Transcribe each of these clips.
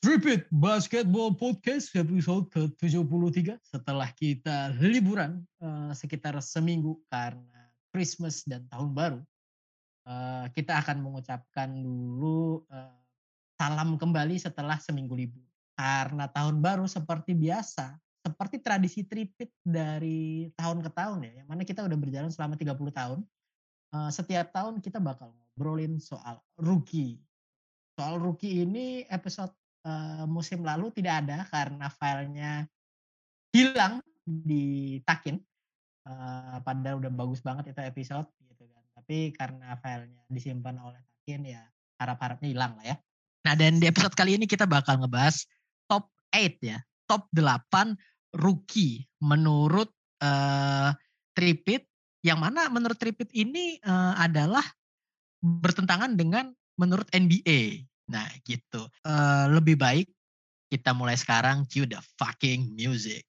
Repeat Basketball Podcast episode ke-73 setelah kita liburan sekitar seminggu karena Christmas dan Tahun Baru. Kita akan mengucapkan dulu salam kembali setelah seminggu libur. Karena Tahun Baru seperti biasa, seperti tradisi tripit dari tahun ke tahun ya, yang mana kita udah berjalan selama 30 tahun. Setiap tahun kita bakal ngobrolin soal rookie. Soal rookie ini episode musim lalu tidak ada karena filenya hilang di Takin. Padahal udah bagus banget itu episode gitu kan. Tapi karena filenya disimpan oleh Takin ya harap-harapnya hilang lah ya. Nah dan di episode kali ini kita bakal ngebahas top 8 ya. Top 8 rookie menurut Tripit. Yang mana menurut Tripit ini adalah bertentangan dengan menurut NBA. Nah gitu. Lebih baik kita mulai sekarang. Cue the fucking music.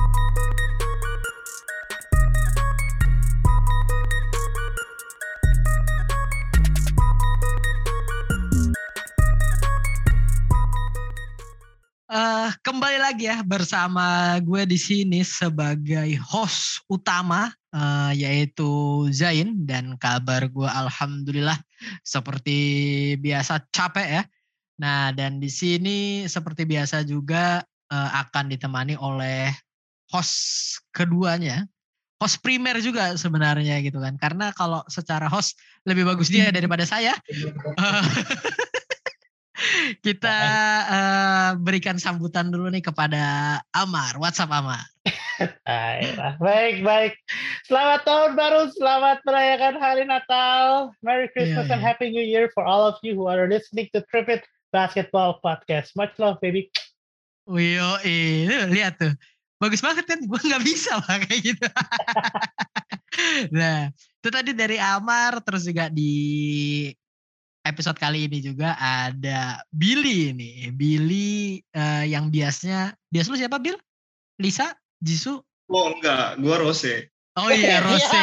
Kembali lagi ya bersama gue di sini sebagai host utama yaitu Zain, dan kabar gue alhamdulillah seperti biasa capek ya. Nah dan di sini seperti biasa juga akan ditemani oleh host keduanya, host primer juga sebenarnya gitu kan, karena kalau secara host lebih bagus dia daripada saya. Kita berikan sambutan dulu nih kepada Amar. What's up Amar? Baik. Selamat tahun baru, selamat merayakan hari Natal. Merry Christmas and Happy New Year for all of you who are listening to Tripit Basketball Podcast. Much love, baby. Wio, lihat tuh. Bagus banget kan, gue gak bisa lah kayak gitu. Nah, itu tadi dari Amar, terus juga di episode kali ini juga ada Billy nih. Billy yang biasa lu siapa Bill? Lisa? Jisoo? Oh enggak, gue Rose. Oh iya Rose.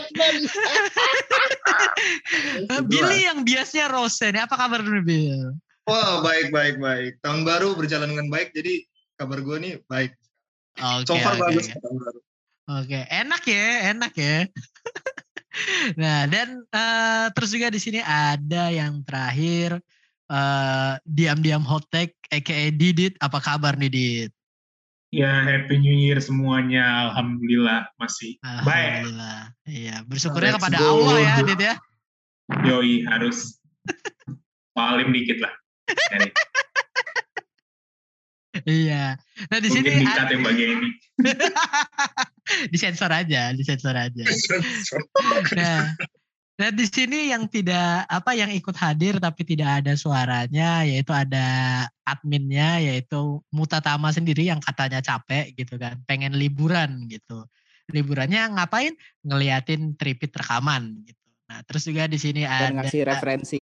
Billy yang biasanya Rose nih, apa kabar dulu Bill? Wah baik. Tahun baru berjalan dengan baik, jadi kabar gue nih baik. So far bagus tahun baru. Oke, enak ya. Nah dan terus juga di sini ada yang terakhir diam-diam hot take aka Didit. Apa kabar nih Didit? Ya, Happy New Year semuanya. Alhamdulillah masih baik. Alhamdulillah. Iya, bersyukurnya kepada Allah ya, Dit ya. Yoi, harus paling dikit lah. Iya. Nah di sini dikat yang bagian ini. disensor aja. Nah di sini yang yang ikut hadir tapi tidak ada suaranya, yaitu ada adminnya, yaitu Mutatama sendiri yang katanya capek gitu kan, pengen liburan gitu. Liburannya ngapain? Ngeliatin Tripit rekaman gitu. Nah terus juga di sini ada ngasih referensi.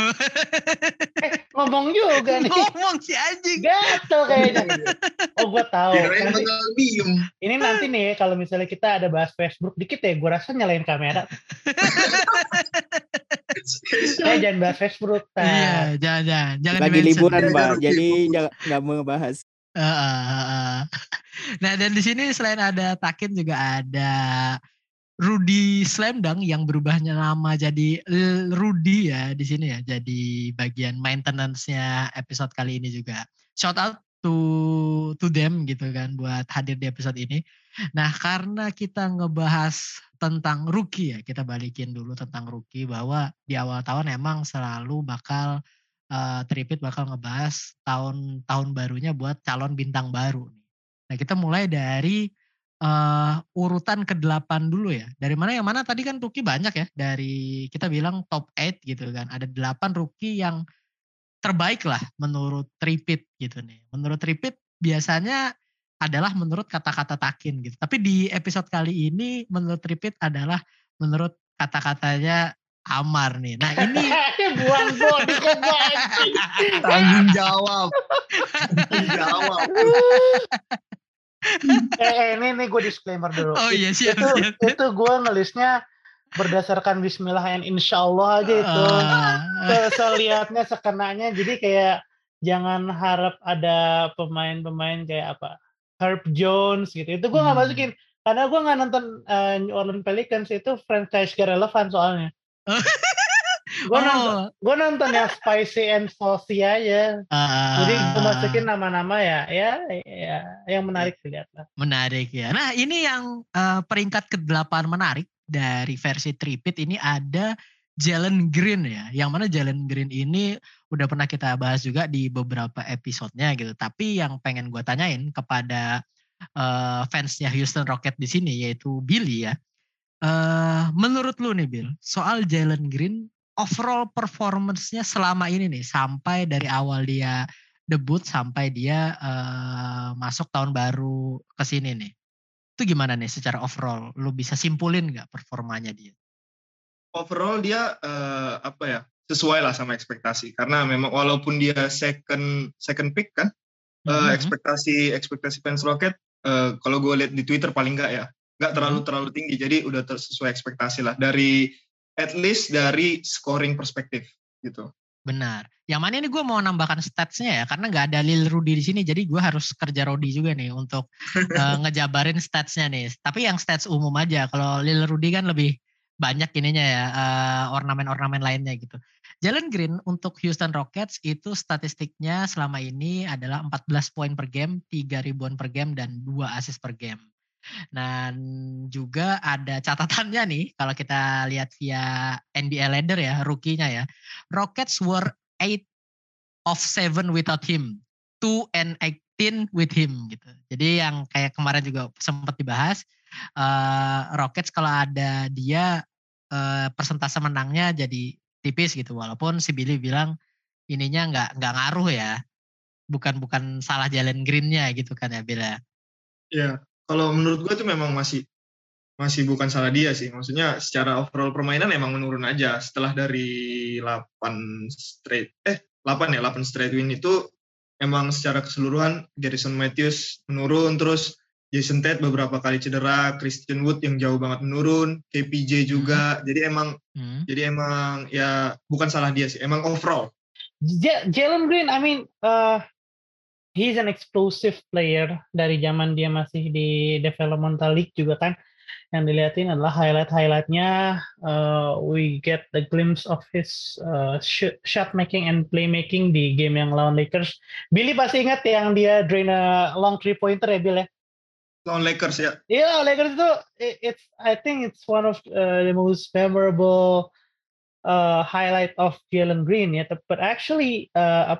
Ngomong juga nih. Ngomong si anjing. Gatel kayaknya. Oh gue tahu. Ini nanti nih kalau misalnya kita ada bahas Facebook dikit ya, gue rasa nyalain kamera. Jangan bahas Facebook. Iya, jangan. Lagi liburan Mbak, jadi nggak mau ngebahas. Nah dan di sini selain ada Takin juga ada Rudy Slamdang yang berubahnya nama jadi Rudy ya di sini ya, jadi bagian maintenance-nya episode kali ini juga. Shout out to them gitu kan buat hadir di episode ini. Nah karena kita ngebahas tentang rookie ya, kita balikin dulu tentang rookie, bahwa di awal tahun emang selalu bakal Tripit bakal ngebahas tahun barunya buat calon bintang baru. Nah kita mulai dari urutan ke-8 dulu ya. Dari mana yang mana tadi kan rookie banyak ya. Dari kita bilang top 8 gitu kan. Ada 8 rookie yang terbaik lah menurut Tripit gitu nih. Menurut Tripit biasanya adalah menurut kata-kata Takin gitu. Tapi di episode kali ini menurut Tripit adalah menurut kata-katanya Amar nih. Nah ini buang body ke tanggung jawab. Ini gue disclaimer dulu. Oh iya siap. Itu gue ngelisnya berdasarkan Bismillah and Insya Allah aja itu. Selihatnya sekenanya, jadi kayak jangan harap ada pemain-pemain kayak apa Herb Jones gitu. Itu gue nggak masukin karena gue nggak nonton New Orleans Pelicans, itu franchise gak relevan soalnya. Gue nonton yang Spicy and Saucy aja. Jadi gue masukin nama-nama ya yang menarik dilihat lah. Menarik ya. Nah ini yang peringkat ke-8 menarik dari versi Tripit ini ada Jalen Green ya. Yang mana Jalen Green ini udah pernah kita bahas juga di beberapa episodenya gitu. Tapi yang pengen gue tanyain kepada fansnya Houston Rockets di sini yaitu Billy ya. Menurut lu nih Bill, soal Jalen Green overall performance-nya selama ini nih sampai dari awal dia debut sampai dia masuk tahun baru ke sini nih. Itu gimana nih secara overall? Lu bisa simpulin nggak performanya dia? Overall dia sesuai lah sama ekspektasi, karena memang walaupun dia second pick kan, ekspektasi fans Rocket kalau gue lihat di Twitter paling nggak terlalu tinggi, jadi udah sesuai ekspektasi lah dari at least dari scoring perspektif gitu. Benar. Yang mana ini gue mau nambahkan statsnya ya, karena nggak ada Lil Rudy di sini, jadi gue harus kerja Rodi juga nih untuk ngejabarin statsnya nih. Tapi yang stats umum aja. Kalau Lil Rudy kan lebih banyak ininya ya, ornamen-ornamen lainnya gitu. Jalen Green untuk Houston Rockets itu statistiknya selama ini adalah 14 poin per game, 3 ribuan per game, dan 2 assist per game. Dan juga ada catatannya nih, kalau kita lihat via NBA Ladder ya, rookie-nya ya. Rockets were 8 of 7 without him, 2 and 18 with him gitu. Jadi yang kayak kemarin juga sempat dibahas, Rockets kalau ada dia persentase menangnya jadi tipis gitu. Walaupun si Billy bilang ininya nggak ngaruh ya, bukan salah Jalen Green-nya gitu kan ya Bill ya. Iya, kalau menurut gue itu memang masih bukan salah dia sih. Maksudnya secara overall permainan emang menurun aja setelah dari 8 straight win itu. Emang secara keseluruhan Garrison Matthews menurun, terus Jason Tate beberapa kali cedera, Christian Wood yang jauh banget menurun, KPJ juga. Jadi emang ya bukan salah dia sih, emang overall. Jalen Green, I mean, he's an explosive player dari zaman dia masih di developmental league juga kan. Yang dilihatin adalah highlight-highlightnya. We get the glimpse of his shot making and playmaking di game yang lawan Lakers. Billy pasti ingat yang dia drain a long 3-pointer ya Bill ya? Lawan Lakers ya? Iya, Lakers itu I think it's one of the most memorable highlight of Jalen Green ya. But actually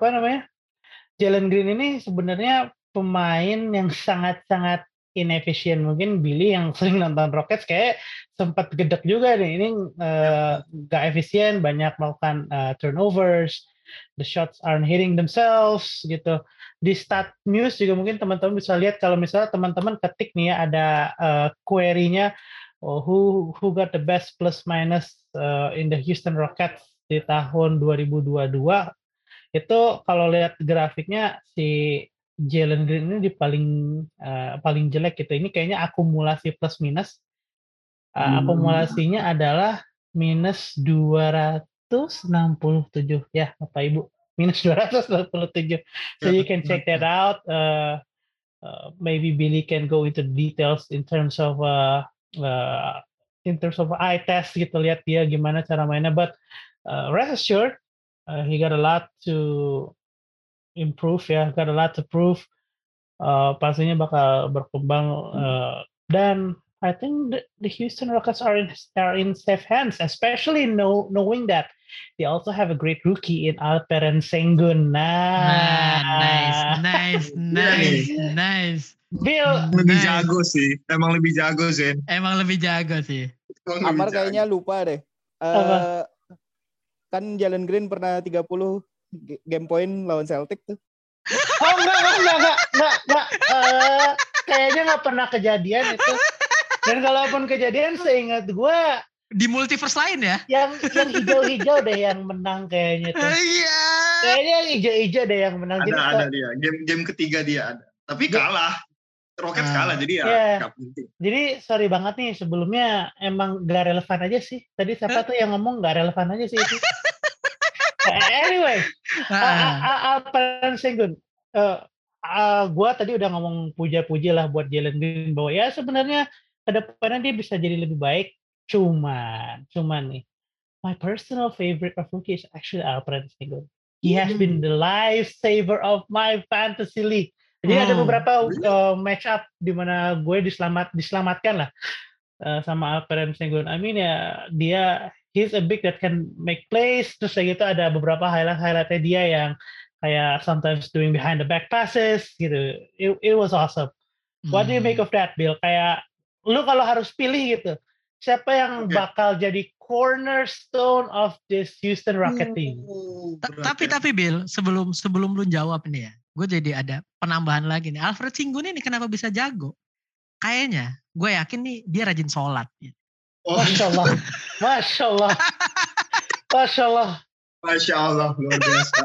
Jalen Green ini sebenarnya pemain yang sangat-sangat inefisien. Mungkin Billy yang sering nonton Rockets kayak sempat gedek juga nih. Ini gak efisien, banyak melakukan turnovers, the shots aren't hitting themselves gitu. Di Stat News juga mungkin teman-teman bisa lihat kalau misalnya teman-teman ketik nih ya ada query-nya who got the best plus minus in the Houston Rockets di tahun 2022. Itu kalau lihat grafiknya si Jalen Green ini di paling jelek gitu. Ini kayaknya akumulasi plus minus. Akumulasinya adalah minus 267 ya Bapak Ibu. Minus 267. So you can check that out. Maybe Billy can go into details in terms of eye test gitu, lihat dia gimana cara mainnya. But rest assured, he got a lot to improve ya, got a lot to prove. Pastinya bakal berkembang dan I think the Houston Rockets are in safe hands, especially knowing that they also have a great rookie in Alperen Sengun. Nice. Bill lebih jago sih, emang lebih jago sih. Amar kayaknya lupa deh. Kan Jalen Green pernah 30 game point lawan Celtic tuh. Oh enggak. Kayaknya nggak pernah kejadian itu. Dan kalaupun kejadian, seingat gue di multiverse lain ya. Yang hijau-hijau deh yang menang kayaknya tuh. Iya. Kayaknya yang hijau-hijau deh yang menang. Ada dia. Game ketiga dia ada. Tapi kalah. Rockets kalah, jadi ya nggak penting. Jadi sorry banget nih, sebelumnya emang gak relevan aja sih. Tadi siapa tuh yang ngomong gak relevan aja sih itu. Anyway, Ah, Alperen Sengun. Gua tadi udah ngomong puja-puji lah buat Jalen Green bahwa ya sebenarnya ke depannya dia bisa jadi lebih baik. Cuman nih, my personal favorite of rookie is actually Alperen Sengun. He has been the lifesaver of my fantasy league. Jadi ada beberapa match up di mana gue diselamatkan lah sama Alperen Sengun. I mean ya dia he's a big that can make plays. Terus kayak gitu ada beberapa highlightnya dia yang kayak sometimes doing behind the back passes gitu. It was awesome. What do you make of that, Bill? Kayak lu kalau harus pilih gitu, siapa yang bakal jadi cornerstone of this Houston Rocket team? Tapi Bill, sebelum lu jawab nih ya, gue jadi ada penambahan lagi nih. Alfred Sengun ini kenapa bisa jago? Kayaknya, gue yakin nih dia rajin sholat. Masya Allah, Masya Allah, Masya Allah. Masya Allah, luar biasa.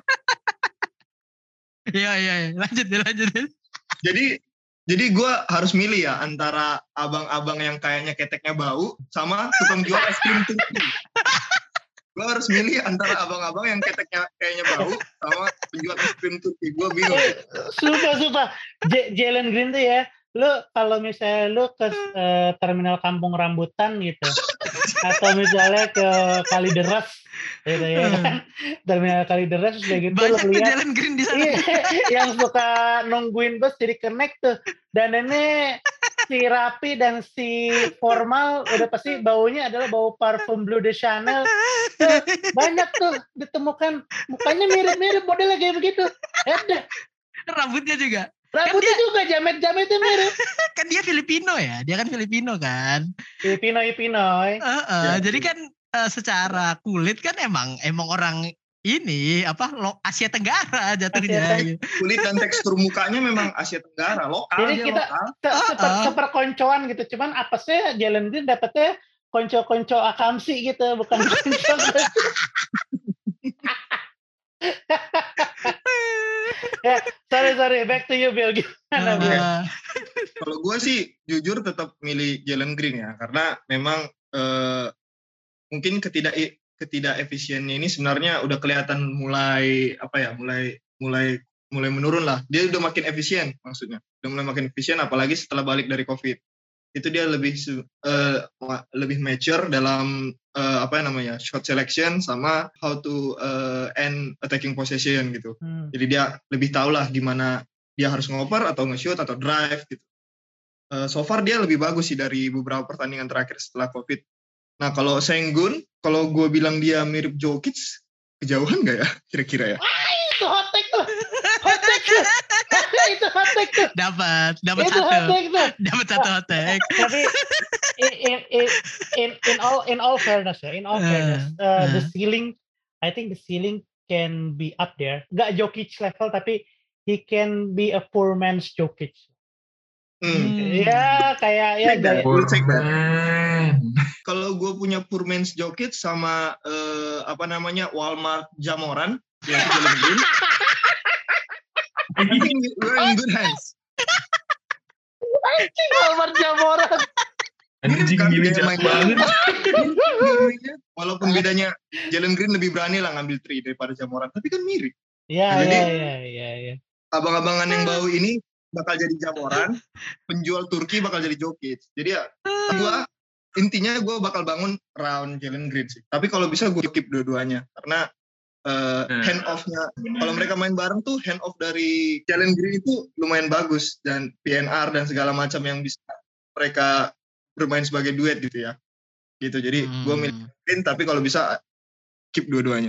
Iya, lanjut. Jadi gue harus milih ya antara abang-abang yang kayaknya keteknya bau sama tukang jual es krim Turki. Gue harus milih antara abang-abang yang keteknya kayaknya bau sama penjual es krim Turki. Gue bingung. Sumpah. Jalen Green tuh ya, lu kalau misalnya lu ke terminal Kampung Rambutan gitu, atau misalnya ke Kalideres gitu ya kan, terminal Kalideres udah gitu Banyak lu tuh lihat Jalen Green di sana. yang suka nungguin bus jadi connect tuh, dan ini si Rapi dan si Formal udah pasti baunya adalah bau parfum Bleu de Chanel. Tuh, banyak tuh ditemukan mukanya mirip-mirip modelnya kayak begitu. Rambutnya juga. Rambutnya juga jamet-jametnya mirip. Kan dia Filipino ya, dia kan Filipino kan. Pinoy. Jadi kan secara kulit kan emang orang ini Asia Tenggara jatuhnya. Kulit dan tekstur mukanya memang Asia Tenggara, lokal. Jadi kita seperkoncoan gitu, cuman apesnya Jalen Green dapetnya konco-konco akamsi gitu, bukan konco. Ya, sorry, back to you Bill, gimana Bill? Kalau gue sih jujur tetap milih Jalen Green ya, karena memang mungkin ketidak efisiennya ini sebenarnya udah kelihatan mulai menurun lah. Dia udah makin efisien maksudnya, udah mulai makin efisien apalagi setelah balik dari COVID. Itu dia lebih mature dalam shot selection sama how to end attacking possession gitu. Jadi dia lebih tahu lah gimana dia harus ngoper atau nge-shoot atau drive gitu. So far dia lebih bagus sih dari beberapa pertandingan terakhir setelah COVID. Nah kalau Sengun, kalau gue bilang dia mirip Jokic, kejauhan nggak ya kira-kira ya? Itu hot take tuh. Itu hot take tuh. Dapat satu hot take. Tapi in all fairness, the ceiling, I think the ceiling can be up there. Gak Jokic level, tapi he can be a poor man's Jokic. Ya kayak ya. Kalau gue punya poor man's Jokic sama Walmart Jamoran, ya Jalen Green. I think we're in good hands. Anjing Walmart Jamoran. Anjing gini jahat banget. Walaupun bedanya Jalen Green lebih berani lah ngambil 3 daripada Jamoran, tapi kan mirip. Iya. Abang-abangan yang bau ini bakal jadi Jamoran, penjual Turki bakal jadi Jokic. Jadi ya, intinya gue bakal bangun round Jalen Green sih. Tapi kalau bisa gue keep dua-duanya, karena hand off-nya, kalau mereka main bareng tuh hand off dari Jalen Green itu lumayan bagus, dan PNR dan segala macam yang bisa mereka bermain sebagai duet gitu ya. Gitu. Jadi gue milih Green, tapi kalau bisa keep dua-duanya.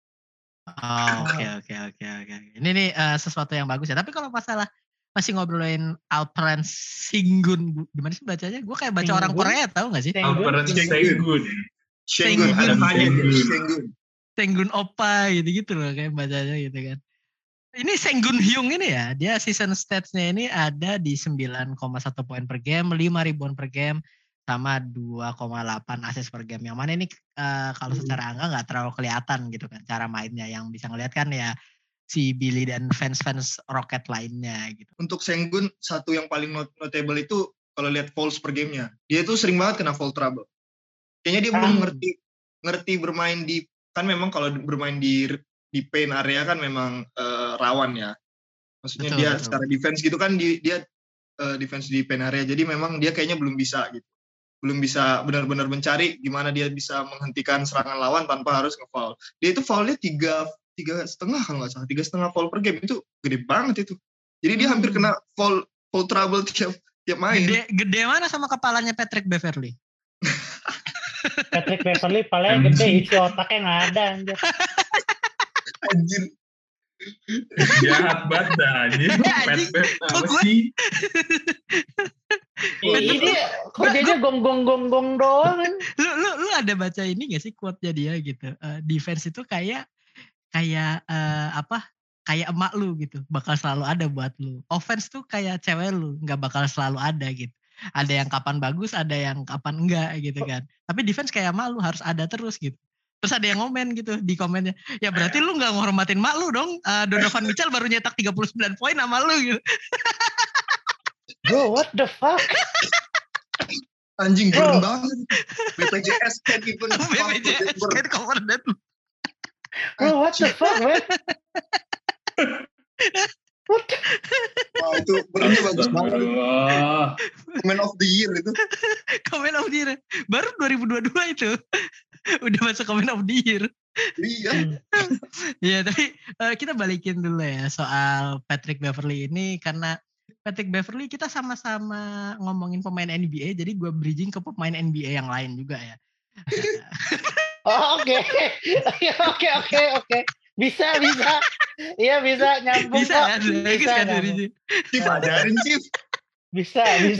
Oke. Ini nih sesuatu yang bagus ya. Tapi kalau masalah masih ngobrolin Alperen Sengun, gimana sih bacanya? Gue kayak baca orang Korea, tahu nggak sih? Alperen Sengun. Sengun Opa gitu loh kayak bacanya gitu kan. Ini Sengun Hyung ini ya, dia season stats-nya ini ada di 9,1 poin per game, 5 ribuan per game, sama 2,8 assist per game. Yang mana ini kalau secara angka nggak terlalu kelihatan gitu kan cara mainnya. Yang bisa ngeliat kan ya si Billy dan fans-fans Rocket lainnya gitu. Untuk Sengun, satu yang paling notable itu kalau lihat fouls per gamenya, dia tuh sering banget kena foul trouble. Kayaknya dia belum ngerti bermain di, kan memang kalau bermain di di paint area kan memang rawan ya. Maksudnya Betul, dia betul. secara defense gitu kan dia defense di paint area. Jadi memang dia kayaknya belum bisa gitu. Belum bisa benar-benar mencari gimana dia bisa menghentikan serangan lawan tanpa harus nge-foul. Dia itu foulnya 3,5 kalau nggak salah, 3,5 foul per game, itu gede banget itu. Jadi dia hampir kena foul trouble tiap main. Gede mana sama kepalanya Patrick Beverly? Patrick Beverly palanya gede, isi otaknya nggak ada anjir. Anjir. Jahat banget dah anjir. Anjing, Pet kok apa gue- sih? Ini kerjanya gong doang kan. Lu ada baca ini gak sih quote-nya dia gitu? Defense itu kayak apa? Kayak emak lu gitu, bakal selalu ada buat lu. Offense tuh kayak cewek lu, nggak bakal selalu ada gitu. Ada yang kapan bagus, ada yang kapan enggak gitu kan. Tapi defense kayak emak lu harus ada terus gitu. Terus ada yang ngomen gitu di komennya. Ya berarti lu nggak ngehormatin emak lu dong. Donovan Mitchell baru nyetak 39 poin sama lu gitu. Bro, what the fuck? Anjing Bro. keren banget. BPJS can't even BPJS can't cover that. Bro, what the fuck, man? What the... Wah, itu berarti bagus banget. Astagfirullah. Man of the year itu. Comment of the year. Baru 2022 itu. Udah masuk comment of the year. Iya. Iya, tapi kita balikin dulu ya soal Patrick Beverly ini, karena Patrick Beverly kita sama-sama ngomongin pemain NBA, jadi gue bridging ke pemain NBA yang lain juga ya. Oh, oke. Oke. Bisa. Iya, bisa nyambung Bisa kok. kan? Bagus kan dari nyambung. Chief ajarin Chief. Bisa.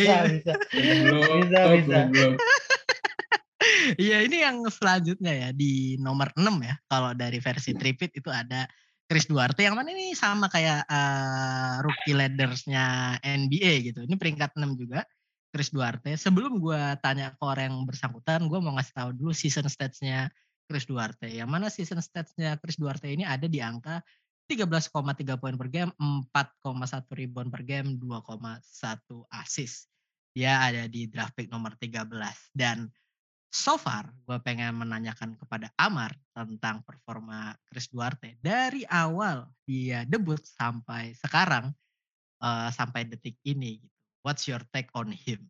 Goblok. Iya, ini yang selanjutnya ya di nomor 6 ya. Kalau dari versi Tripit itu ada Chris Duarte, yang mana ini sama kayak rookie leaders-nya NBA gitu. Ini peringkat 6 juga. Chris Duarte. Sebelum gue tanya ke orang yang bersangkutan, gue mau ngasih tahu dulu season stats-nya Chris Duarte. Yang mana season stats-nya Chris Duarte ini ada di angka 13,3 poin per game, 4,1 rebound per game, 2,1 assist. Dia ada di draft pick nomor 13. Dan so far, gue pengen menanyakan kepada Amar tentang performa Chris Duarte dari awal dia debut sampai sekarang, sampai detik ini. What's your take on him?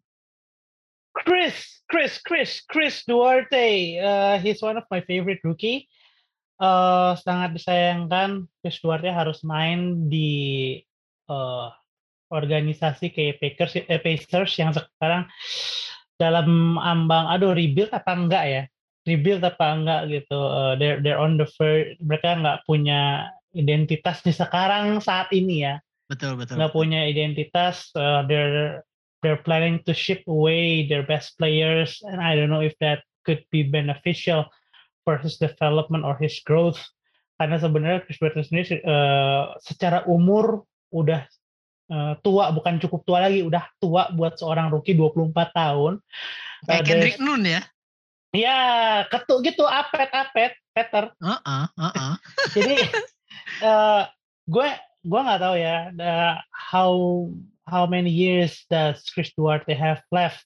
Chris Duarte. He's one of my favorite rookie. Sangat disayangkan Chris Duarte harus main di organisasi kayak Pacers yang sekarang dalam ambang rebuild apa enggak ya? Rebuild apa enggak gitu. They're on the verge. Mereka nggak punya identitas di sekarang saat ini ya. Betul. Nggak punya identitas. They're planning to ship away their best players, and I don't know if that could be beneficial for his development or his growth. Karena sebenarnya Chris Duarte sendiri secara umur udah tua, bukan cukup tua lagi, udah tua buat seorang rookie 24 tahun. Kayak Kendrick Nunn ya? Ya, ketuk gitu, apet, Peter. Jadi gue nggak tahu ya how many years does Chris Duarte have left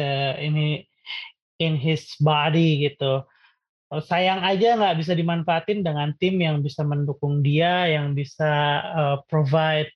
in his body gitu. Sayang aja nggak bisa dimanfaatin dengan tim yang bisa mendukung dia, yang bisa provide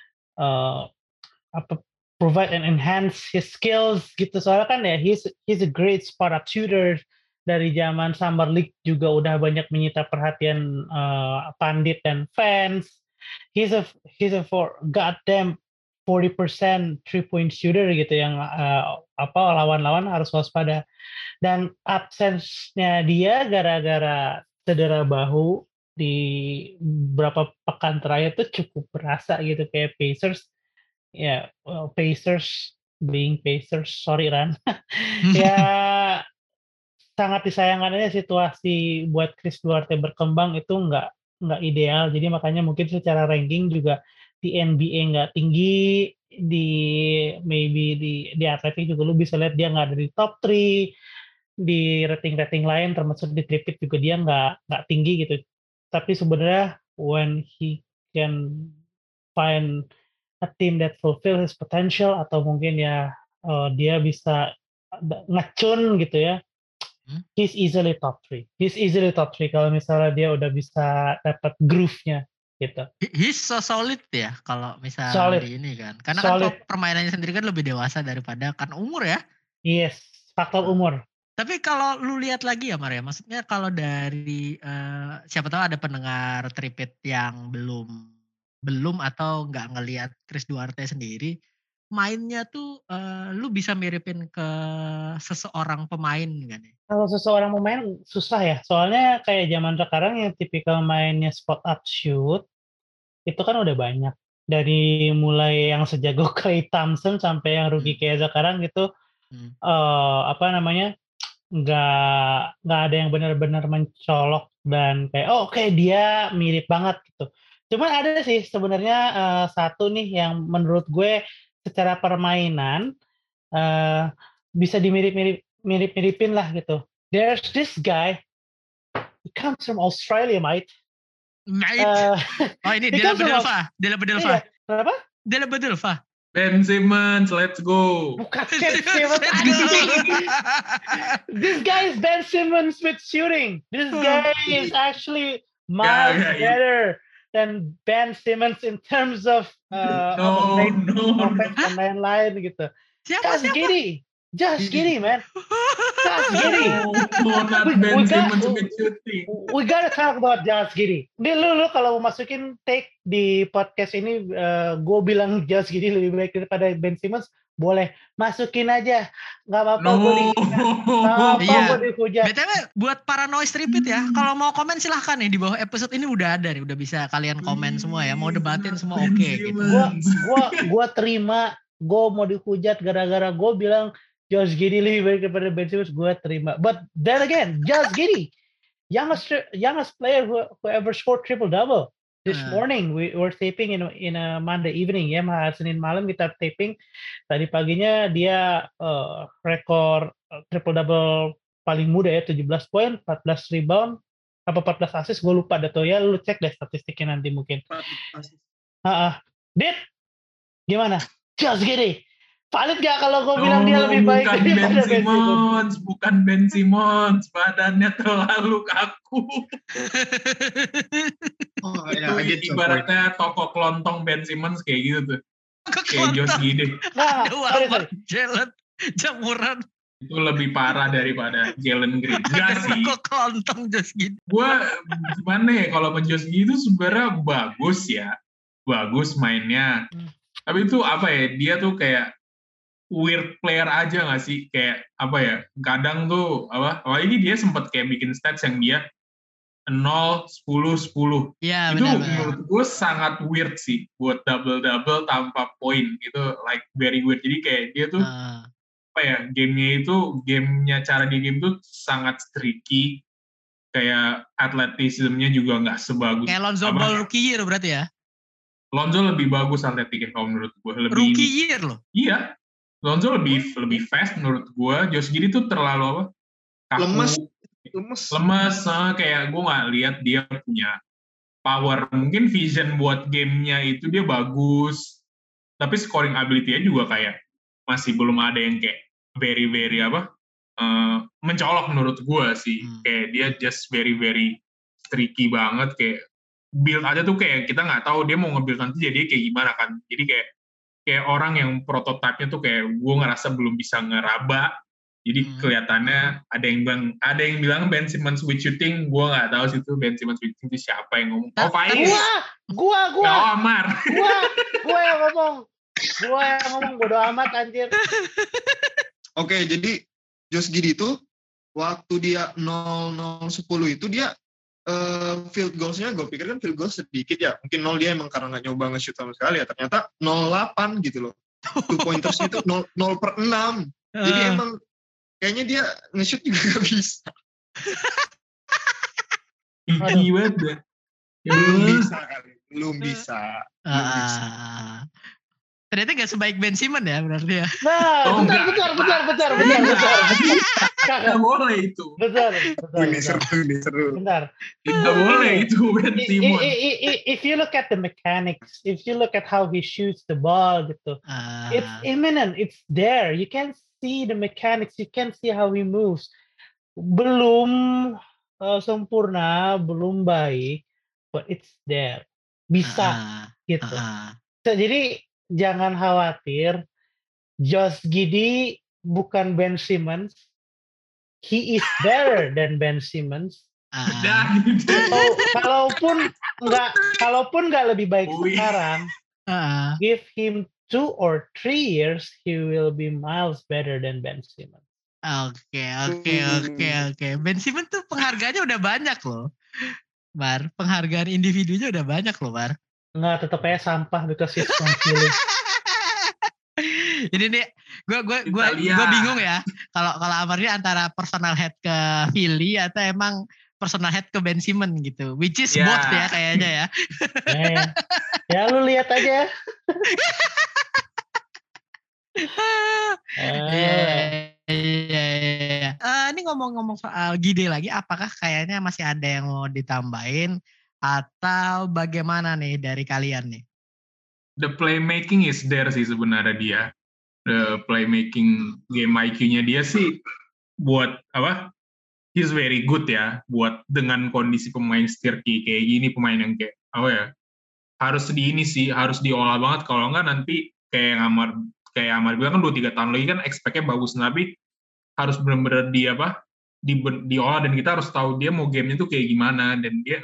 and enhance his skills gitu. Soalnya kan ya he's a great spot up shooter. Dari zaman Summer League juga udah banyak menyita perhatian pandit dan fans. He's a for goddamn 40% 3-point shooter gitu yang lawan-lawan harus waspada. Dan absence-nya dia gara-gara cedera bahu di beberapa pekan terakhir tuh cukup berasa gitu, kayak Pacers. Ya, Pacers being Pacers, sorry Ran. Ya sangat disayangkan aja situasi buat Chris Duarte berkembang itu nggak ideal. Jadi makanya mungkin secara ranking juga di NBA nggak tinggi, maybe di Athletic juga lu bisa lihat dia nggak ada di top 3, di rating lain termasuk di Tripit juga dia nggak tinggi gitu. Tapi sebenarnya when he can find a team that fulfill his potential, atau mungkin ya dia bisa ngecun gitu ya, he's easily top 3. He's easily top 3 kalau misalnya dia udah bisa dapat groove-nya gitu. He's so solid ya kalau misal Solid. di ini kan. Karena Solid. kan permainannya sendiri kan lebih dewasa daripada kan umur ya. Yes, faktor umur. Tapi kalau lu lihat lagi ya Maria, maksudnya kalau dari siapa tahu ada pendengar Tripit yang belum atau nggak ngelihat Chris Duarte sendiri, mainnya tuh lu bisa miripin ke seseorang pemain kan ya? Kalau seseorang pemain susah ya, soalnya kayak zaman sekarang yang tipikal mainnya spot up shoot itu kan udah banyak. Dari mulai yang sejago Klay Thompson sampai yang rookie kayak sekarang gitu, nggak ada yang benar-benar mencolok dan kayak oke, dia mirip banget gitu. Cuman ada sih sebenarnya satu nih yang menurut gue secara permainan bisa miripin lah gitu. There's this guy, he comes from Australia, mate. Oh ini he Della comes from Bedelva. Iya, kenapa? Della Bedelva. Ben Simmons, let's go. Bukan Ben Simmons. This guy is Ben Simmons with shooting. This guy is actually miles better than Ben Simmons in terms of offense dan lain-lain gitu. Just Giddey, man. Just Giddey. Not Ben Simmons with shooting. We gotta talk about Josh Giddey. Ini lu kalau mau masukin take di podcast ini, gue bilang Josh Giddey lebih baik daripada Ben Simmons, boleh masukin aja, nggak apa-apa. Gue dihujat. BTW buat para noise repeat ya, kalau mau komen silahkan nih di bawah episode ini udah ada nih, udah bisa kalian komen semua ya, mau debatin semua oke gitu. Gue terima, gue mau dihujat gara-gara gue bilang Josh Giddey lebih baik daripada Ben Simmons, gue terima. But then again, Josh Giddey, youngest player who ever scored triple-double. This morning we were taping in a Monday evening ya, Senin malam kita taping. Tadi paginya dia rekor triple-double paling muda ya, 17 poin, 14 rebound, apa 14 assist, gue lupa deh tuh ya, lu cek deh statistiknya nanti mungkin. Dit, gimana? Josh Giddey, valid gak kalau gue bilang dia lebih baik daripada Ben Simmons? Bukan Ben Simmons, badannya terlalu kaku. Itu ibaratnya toko kelontong Ben Simmons kayak gitu tuh. Kayak Josh Giddey. Aduh, Jalen jamuran. Itu lebih parah daripada Jalen Green. Enggak sih. Kok kelontong Josh Giddey? Gue gimana ya, kalau Josh Giddey itu sebenarnya bagus ya. Bagus mainnya. Tapi itu apa ya, dia tuh kayak weird player aja nggak sih, kayak apa ya, kadang tuh apalagi dia sempat kayak bikin stats yang dia 0, 10, 10. Ya, itu benar. Menurut gue sangat weird sih buat double-double tanpa poin, itu like very weird. Jadi kayak dia tuh apa ya, gamenya cara di game tuh sangat tricky, kayak atletismnya juga nggak sebagus kayak Lonzo Ball rookie year berarti ya. Lonzo lebih bagus atletiknya kalau menurut gue, lebih rookie year loh. Iya, Lonzo lebih fast menurut gue. Josh Giddey tuh terlalu kaku, lemes. Kayak gue nggak lihat dia punya power. Mungkin vision buat gamenya itu dia bagus, tapi scoring ability-nya juga kayak masih belum ada yang kayak very mencolok menurut gue sih. Kayak dia just very tricky banget, kayak build aja tuh kayak kita nggak tahu dia mau nge-build nanti jadi kayak gimana kan. Jadi kayak orang yang prototipenya tuh kayak gue ngerasa belum bisa ngeraba. Jadi kelihatannya ada yang bilang Ben Simmons with shooting, gue nggak tahu sih itu Ben Simmons with shooting itu siapa yang ngomong. Oh, Faiz. Gua. Amar. Gue yang ngomong. Bodo amat anjir. Oke, jadi Josh Giddey itu waktu dia 0-0-10 itu dia field goals-nya gue pikir kan field goals sedikit ya. Mungkin 0 dia emang karena nggak nyoba nge-shoot sama sekali ya. Ternyata 0-8 gitu loh. 2 pointers itu 0/6. Jadi emang kayaknya dia nge-shoot juga gak bisa. Tinggi banget. Belum bisa. Ternyata gak sebaik Ben Simmons ya berarti ya. Nah, bentar. Gak boleh itu. Bentar. Ini seru. Bentar. Gak boleh itu Ben Simmons. If you look at the mechanics, if you look at how he shoots the ball gitu, it's imminent, it's there. You can see the mechanics, you can see how he moves. belum sempurna, belum baik, but it's there. Bisa Heeh, gitu. heeh. Jadi jangan khawatir, Josh Giddey bukan Ben Simmons. He is better than Ben Simmons. Dah gitu. Kalaupun nggak lebih baik Wih. sekarang, Heeh. give him 2 or 3 years, he will be miles better than Ben Simmons. Oke. Ben Simmons tuh penghargaannya udah banyak loh, Bar. Penghargaan individunya udah banyak loh, Bar. Nggak, tetap aja sampah because he's from Philly. Ini nih, gue Italia. bingung ya. Kalau Amar ini antara personal head ke Philly atau emang personal head ke Ben Simmons gitu. Which is Ya. both ya kayaknya ya. Ya lu lihat aja. Iya. Ini ngomong-ngomong soal Gide lagi, apakah kayaknya masih ada yang mau ditambahin atau bagaimana nih dari kalian nih? The playmaking is there sih sebenarnya dia. The playmaking game IQ-nya dia sih buat apa? He's very good ya buat dengan kondisi pemain stirky kayak gini, pemain yang kayak apa ya? Harus harus diolah banget, kalau enggak nanti kayak Amar bilang kan 2-3 tahun lagi kan expect-nya bagus, tapi harus benar-benar diolah, dan kita harus tahu dia mau gamenya tuh kayak gimana, dan dia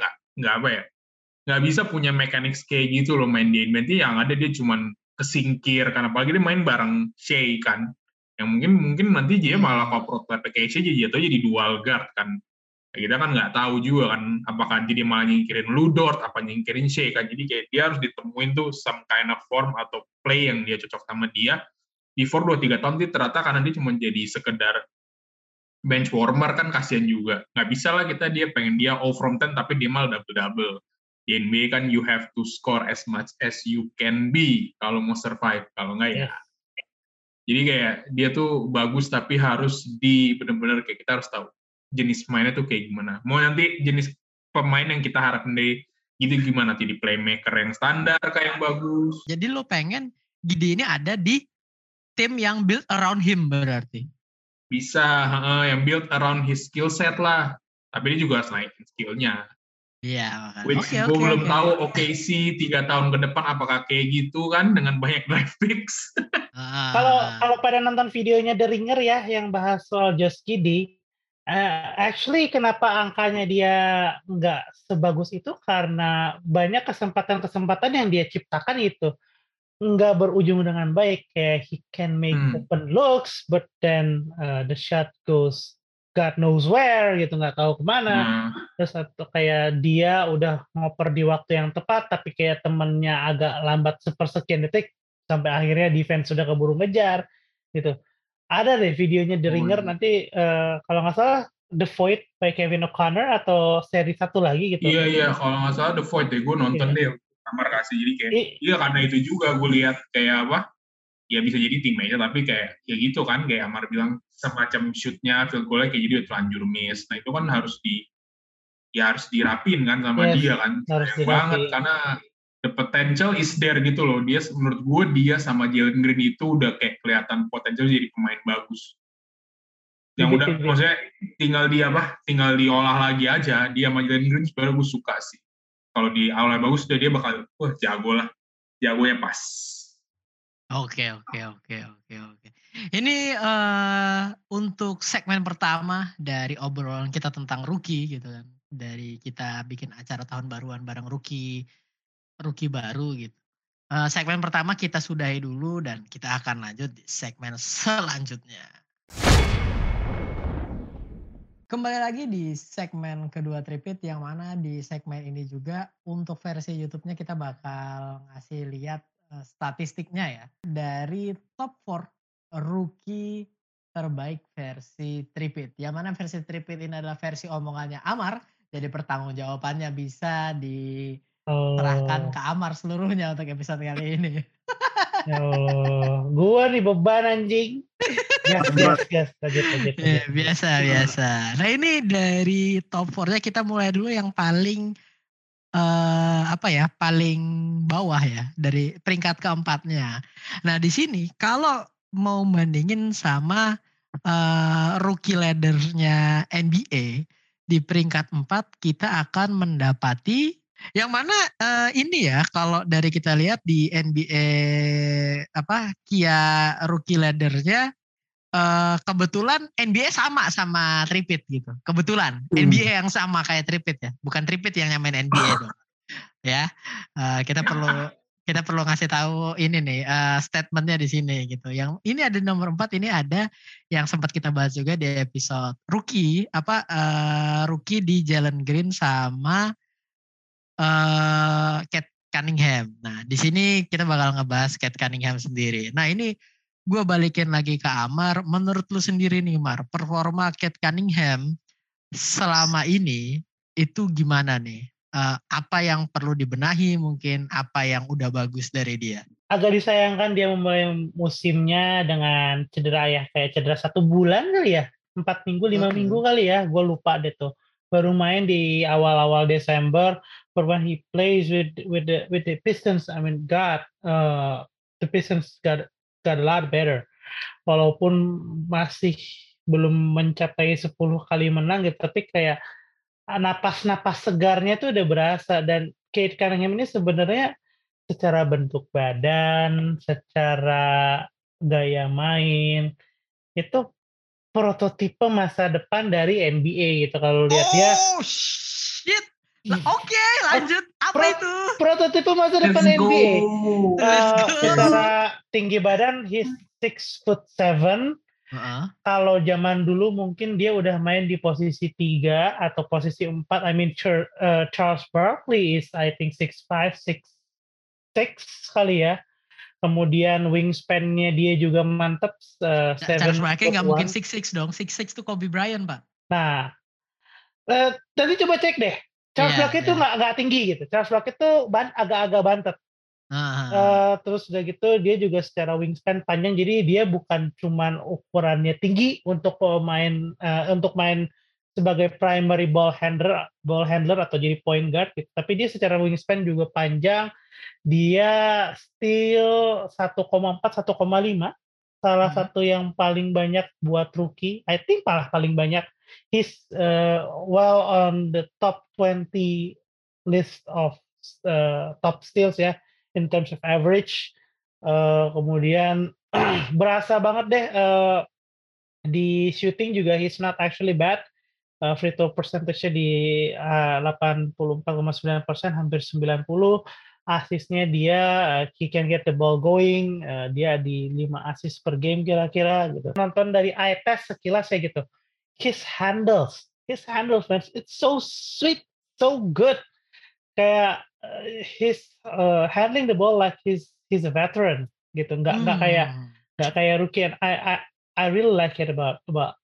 nggak bisa punya mechanics kayak gitu loh main di NBA. Yang ada dia cuman kesingkir, karena apalagi dia main bareng Shea kan, yang mungkin nanti dia malah kalau prototype kayak Shea jatuhnya jadi dual guard kan. Kita kan nggak tahu juga kan, apakah dia malah nyingkirin Lu Dort, apa nyingkirin Shea kan. Jadi kayak dia harus ditemuin tuh some kind of form atau play yang dia cocok sama dia before 2-3 tahun dia ternyata, karena dia cuma jadi sekedar bench warmer kan kasihan juga. Nggak bisa lah dia pengen dia all from 10 tapi dia malah double-double. Di NBA kan you have to score as much as you can be kalau mau survive, kalau nggak ya. Jadi kayak dia tuh bagus tapi harus bener-bener kayak kita harus tahu jenis mainnya tuh kayak gimana. Mau nanti jenis pemain yang kita harapin dari gitu gimana, nanti di playmaker yang standar kayak yang bagus. Jadi lo pengen Gide ini ada di tim yang build around him berarti? Bisa, yang build around his skill set lah. Tapi dia juga harus naikin skillnya. Iya. Which gue belum tahu OKC 3 tahun ke depan apakah kayak gitu kan dengan banyak draft picks. Kalau pada nonton videonya The Ringer ya yang bahas soal Josh Giddey, actually kenapa angkanya dia nggak sebagus itu karena banyak kesempatan-kesempatan yang dia ciptakan itu nggak berujung dengan baik. Kayak he can make open looks, but then the shot goes God knows where gitu, nggak tahu kemana. Terus atau kayak dia udah ngoper di waktu yang tepat, tapi kayak temennya agak lambat sepersekian detik, sampai akhirnya defense sudah keburu ngejar gitu. Ada deh videonya The Ringer nanti kalau nggak salah The Void by Kevin O'Connor atau seri satu lagi gitu. Iya kalau nggak salah The Void deh, gue nonton deh Amar kasih. Jadi kayak iya karena itu juga gue lihat kayak apa ya, bisa jadi teammate tapi kayak ya gitu kan, kayak Amar bilang semacam shootnya field goal-nya kayak jadi terlanjur miss. Nah itu kan harus dirapin kan sama dia kan, sayang banget karena the potential is there gitu loh. Dia menurut gue dia sama Jalen Green itu udah kayak kelihatan potensial jadi pemain bagus. Yang udah maksudnya tinggal diolah lagi aja. Dia sama Jalen Green sebenarnya gue suka sih. Kalau di awalnya bagus dia bakal jago lah. Jagonya pas. Oke. Ini untuk segmen pertama dari obrolan kita tentang rookie gitu kan. Dari kita bikin acara tahun baruan bareng rookie baru gitu. Segmen pertama kita sudahi dulu dan kita akan lanjut di segmen selanjutnya. Kembali lagi di segmen kedua Tripit, yang mana di segmen ini juga untuk versi YouTube-nya kita bakal ngasih lihat statistiknya ya. Dari top 4 rookie terbaik versi Tripit. Yang mana versi Tripit ini adalah versi omongannya Amar. Jadi pertanggungjawabannya bisa diserahkan ke Amar seluruhnya untuk episode kali ini. Gua nih beban anjing. Yes, lanjut. Biasa. Nah ini dari top 4-nya kita mulai dulu yang paling paling bawah ya, dari peringkat keempatnya. Nah di sini kalau mau bandingin sama rookie ladder-nya NBA di peringkat 4 kita akan mendapati yang mana ini ya kalau dari kita lihat di NBA Kia rookie ladder-nya kebetulan NBA sama Tripit gitu. Kebetulan NBA yang sama kayak Tripit ya, bukan Tripit yang nyamain NBA dong. Ya, kita perlu ngasih tahu ini nih statementnya di sini gitu. Yang ini ada nomor 4, ini ada yang sempat kita bahas juga di episode rookie rookie di Jalen Green sama Kate Cunningham. Nah, di sini kita bakal ngebahas Kate Cunningham sendiri. Nah, ini gue balikin lagi ke Amar. Menurut lu sendiri nih, Mar, performa Kate Cunningham selama ini itu gimana nih? Apa yang perlu dibenahi mungkin, apa yang udah bagus dari dia? Agak disayangkan dia memulai musimnya dengan cedera ya, kayak cedera 1 bulan kali ya, 4 minggu, 5 minggu kali ya, gue lupa deh tuh. Baru main di awal-awal Desember, but when he plays with the Pistons, I mean, the Pistons got a lot better. Walaupun masih belum mencapai 10 kali menang gitu, tapi kayak napas-napas segarnya tuh udah berasa. Dan Kate Cunningham ini sebenarnya secara bentuk badan, secara gaya main, itu prototipe masa depan dari NBA gitu kalau lihat dia. Oh shit. Nah, oke, lanjut. Apa itu? Prototipe masa depan Let's go. NBA. Let's go. Secara tinggi badan he's 6'7". Kalau zaman dulu mungkin dia udah main di posisi 3 atau posisi 4. I mean Charles Barkley is I think 6'5", 6'6" kali ya. Kemudian wingspan-nya dia juga mantep. Charles Barkley nggak mungkin 6'6" dong. 6'6" tuh Kobe Bryant, Pak. Nah, nanti coba cek deh. Charles Barkley itu nggak tinggi gitu. Charles Barkley itu agak-agak bantet. Terus udah gitu dia juga secara wingspan panjang, jadi dia bukan cuman ukurannya tinggi untuk main sebagai primary ball handler atau jadi point guard gitu. Tapi dia secara wingspan juga panjang. Dia still 1,4 1,5, salah satu yang paling banyak buat rookie. I think paling banyak. He's well on the top 20 list of top steals ya, in terms of average. Kemudian berasa banget deh di shooting juga he's not actually bad. Free throw percentage-nya di 84,9%, hampir 90. Asisnya dia he can get the ball going, dia di 5 assist per game kira-kira gitu. Nonton dari eye test sekilas ya gitu. His handles man, it's so sweet, so good. Kayak he's handling the ball like he's a veteran gitu, nggak kayak rookie. And I really like it about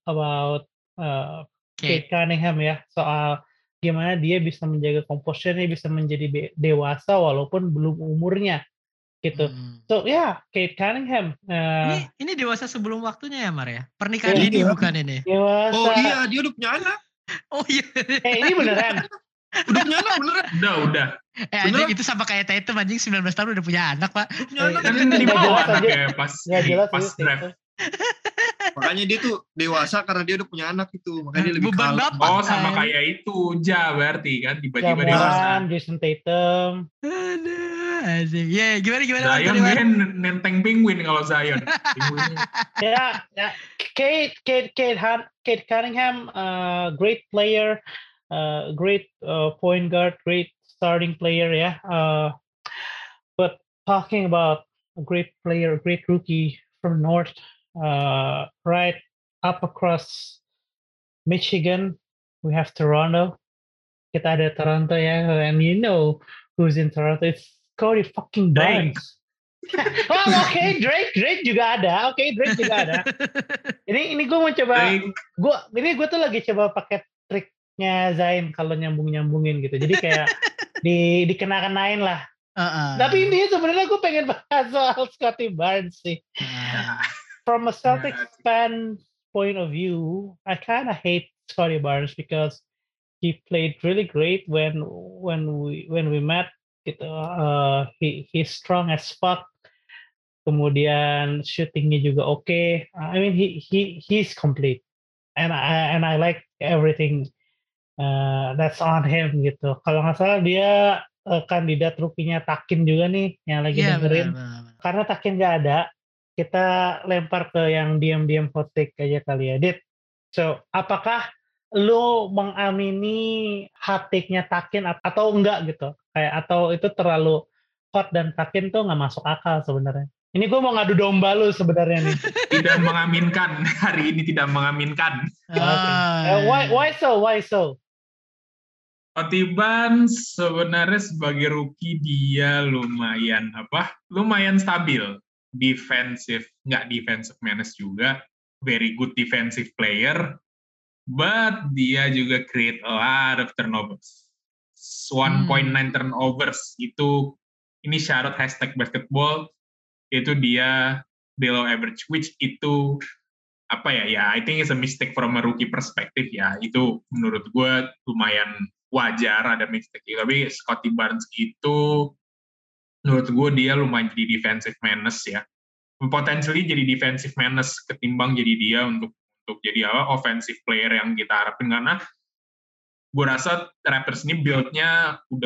Kate Cunningham ya, soal gimana dia bisa menjaga composure-nya, bisa menjadi dewasa walaupun belum umurnya gitu. So Kate Cunningham. Ini dewasa sebelum waktunya ya, Mar ya? Pernikahan ini bukan ini? Dewasa. Oh iya, dia udah punya anak. Oh iya. Ini beneran. Udah punya anak beneran. Udah. Anjing itu sama kayak Tatum, anjing 19 tahun udah punya anak, Pak. Punya anak. Kan di bawah anaknya pas draft. Makanya dia tuh dewasa karena dia udah punya anak itu. Makanya dia lebih beban kalem. bapak. Oh, sama kayak itu berarti kan tiba-tiba dewasa. Jason Tatum. Aduh, asik. Ya, gimana? Zion dia nenteng penguin kalau Zion. Ya, Kate Cunningham, great player, great point guard, great starting player ya. But talking about a great player, a great rookie from North, right up across Michigan, we have Toronto. Kita ada Toronto ya, and you know who's in Toronto? It's Scottie fucking Barnes. Oke, Drake juga ada. Drake juga ada. Ini gue mau coba. Gue tuh lagi coba pakai triknya Zain kalau nyambungin gitu. Jadi kayak dikenain lah. Tapi ini sebenarnya gue pengen bahas soal Scottie Barnes sih. From a Celtics fan point of view, I kind of hate Scottie Barnes because he played really great when we met. Gitu. He's strong as fuck. kemudian shootingnya juga oke. I mean he's complete, and I like everything that's on him gitu. Kalau nggak salah dia kandidat rukinya Takin juga nih yang lagi Iya, benar dengerin. benar benar. Karena Takin nggak ada, kita lempar ke yang diam-diam hot take aja kali ya, Dit. So, apakah lu mengamini hot take-nya Takin atau enggak gitu? Kayak atau itu terlalu hot dan Takin tuh nggak masuk akal sebenarnya. Ini gue mau ngadu domba lu sebenarnya nih. Tidak mengaminkan, hari ini tidak mengaminkan. Okay. Ah, Why so? Why so? Scottie Barnes sebenarnya sebagai rookie dia lumayan stabil, nggak defensive menace juga, very good defensive player, but dia juga create a lot of turnovers. 1.9 turnovers itu, ini syarat #basketball, itu dia below average, which itu I think it's a mistake from a rookie perspective ya. Itu menurut gue lumayan wajar ada mistake. Tapi Scottie Barnes itu menurut gue dia lumayan jadi defensive menace ya. Potentially jadi defensive menace ketimbang jadi dia untuk jadi offensive player yang kita harapin, karena gue rasa Raptors ini build-nya udah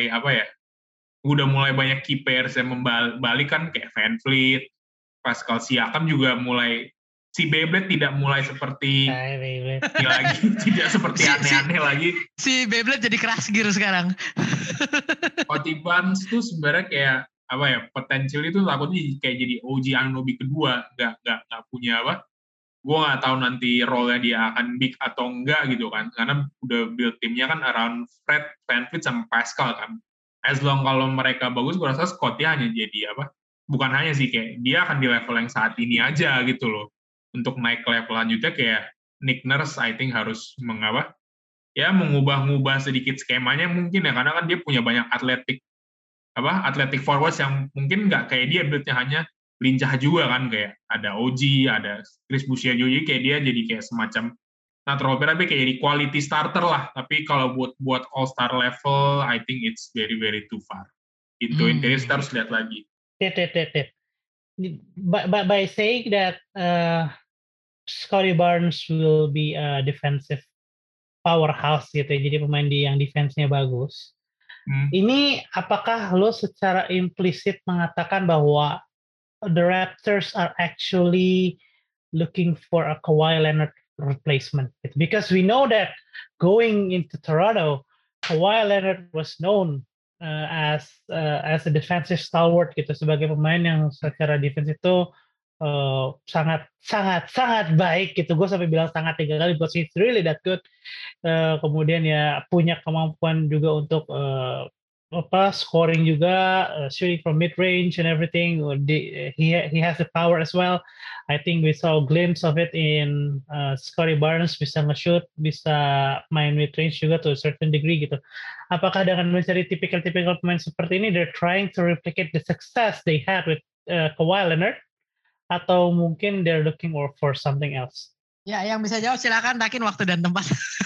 mulai banyak key players yang membalik kan, kayak Van Vliet, Pascal Siakam juga mulai, si Beyblade tidak mulai seperti ini lagi, tidak seperti aneh-aneh lagi. Si Beyblade jadi keras gear sekarang. Scottie Barnes tuh sebenarnya kayak potensial itu takutnya kayak jadi OG Anunoby kedua, nggak punya gue nggak tahu nanti role-nya dia akan big atau enggak gitu kan, karena udah build timnya kan around Fred, Van Vliet sama Pascal kan. As long kalau mereka bagus, gue rasa Scottie hanya jadi bukan hanya sih, kayak dia akan di level yang saat ini aja gitu loh. Untuk naik ke level lanjutnya kayak Nick Nurse I think harus mengubah-ubah sedikit skemanya mungkin ya, karena kan dia punya banyak atletik forwards yang mungkin nggak kayak dia build-nya hanya lincah juga kan, kayak ada OG, ada Chris Boucher juga, kayak dia jadi kayak semacam tapi kayak jadi quality starter lah. Tapi kalau buat all star level I think it's very very too far. Itu intinya kita harus lihat lagi. By saying that Scottie Barnes will be a defensive powerhouse gitu ya, jadi pemain yang defense-nya bagus. Ini apakah lo secara implisit mengatakan bahwa the Raptors are actually looking for a Kawhi Leonard replacement? Because we know that going into Toronto, Kawhi Leonard was known as a defensive stalwart gitu, sebagai pemain yang secara defense itu sangat baik gitu. Gue sampai bilang sangat 3 kali, because he's really that good. Kemudian ya punya kemampuan juga untuk scoring juga, shooting from mid range and everything. He has the power as well. I think we saw a glimpse of it in Scottie Barnes, bisa nge-shoot, bisa main mid range juga to a certain degree gitu. Apakah dengan mencari tipikal pemain seperti ini, they're trying to replicate the success they had with Kawhi Leonard, atau mungkin they're looking for something else? Ya, yang bisa jawab silakan, Takin, waktu dan tempat.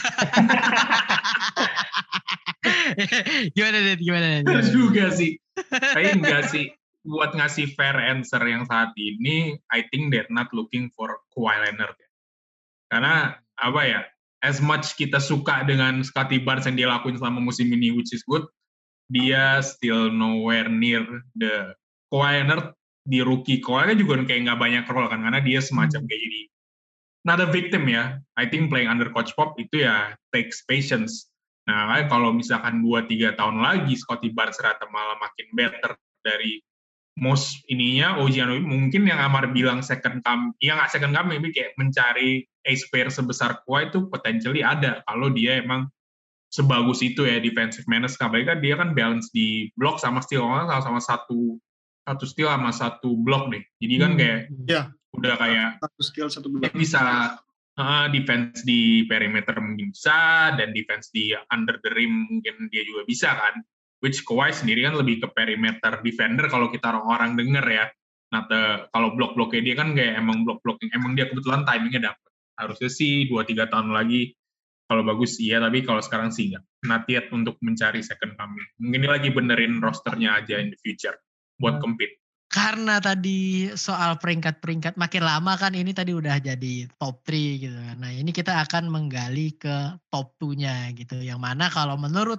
Gimana? Terus juga sih. Tapi enggak sih. Buat ngasih fair answer yang saat ini, I think they're not looking for Kawhi Leonard. Karena as much kita suka dengan Scottie Barnes yang dia lakuin selama musim ini, which is good, dia still nowhere near the Kawhi Leonard di rookie. Kawhi juga kayak nggak banyak role kan, karena dia semacam kayak jadi not a victim ya. I think playing under Coach Pop itu ya takes patience. Nah, kalau misalkan 2-3 tahun lagi Scottie Barnes ternyata malah makin better dari most ininya OG Anunoby, mungkin yang Amar bilang second coming, ya nggak second coming, tapi kayak mencari ace pair sebesar Kawhi itu potentially ada kalau dia emang sebagus itu ya defensive menace. Apalagi kan dia kan balance di block sama steal, sama satu steal sama satu block deh. Jadi kan kayak udah kayak satu skill satu block. Bisa defense di perimeter mungkin bisa, dan defense di under the rim mungkin dia juga bisa kan. Which Kawhi sendiri kan lebih ke perimeter defender kalau kita orang denger ya. Nah, kalau blok-bloknya dia kan kayak emang blok-blocking, emang dia kebetulan timingnya dapet. Harusnya sih 2-3 tahun lagi kalau bagus iya, tapi kalau sekarang sih enggak. Not yet untuk mencari second coming. Mungkin dia lagi benerin rosternya aja in the future buat compete. karena tadi soal peringkat-peringkat makin lama kan ini tadi udah jadi top 3 gitu kan. Nah ini kita akan menggali ke top 2-nya gitu. Yang mana kalau menurut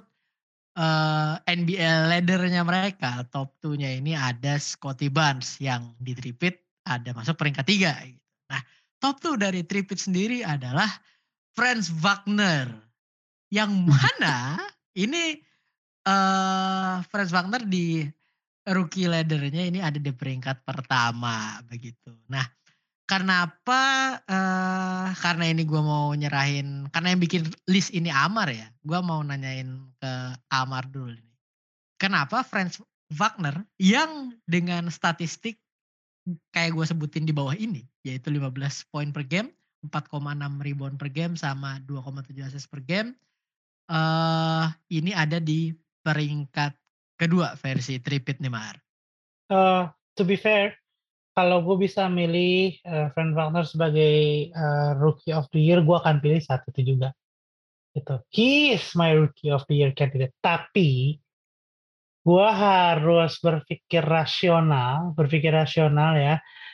NBL ladder-nya mereka, top 2-nya ini ada Scottie Barnes yang di tripit ada masuk peringkat 3. Gitu. Nah top 2 dari tripit sendiri adalah Franz Wagner. Yang mana ini Franz Wagner di rookie ladder-nya ini ada di peringkat pertama begitu. Nah, kenapa karena ini gue mau nyerahin, karena yang bikin list ini Amar ya, gue mau nanyain ke Amar dulu nih. Kenapa Franz Wagner yang dengan statistik kayak gue sebutin di bawah ini, yaitu 15 poin per game, 4,6 rebound per game, sama 2,7 assist per game, ini ada di peringkat kedua versi tripit nih Mar. To be fair, kalau gue bisa milih Franz Wagner sebagai Rookie of the Year, gue akan pilih saat itu juga. Gitu. He is my Rookie of the Year candidate. Tapi gue harus berpikir rasional ya,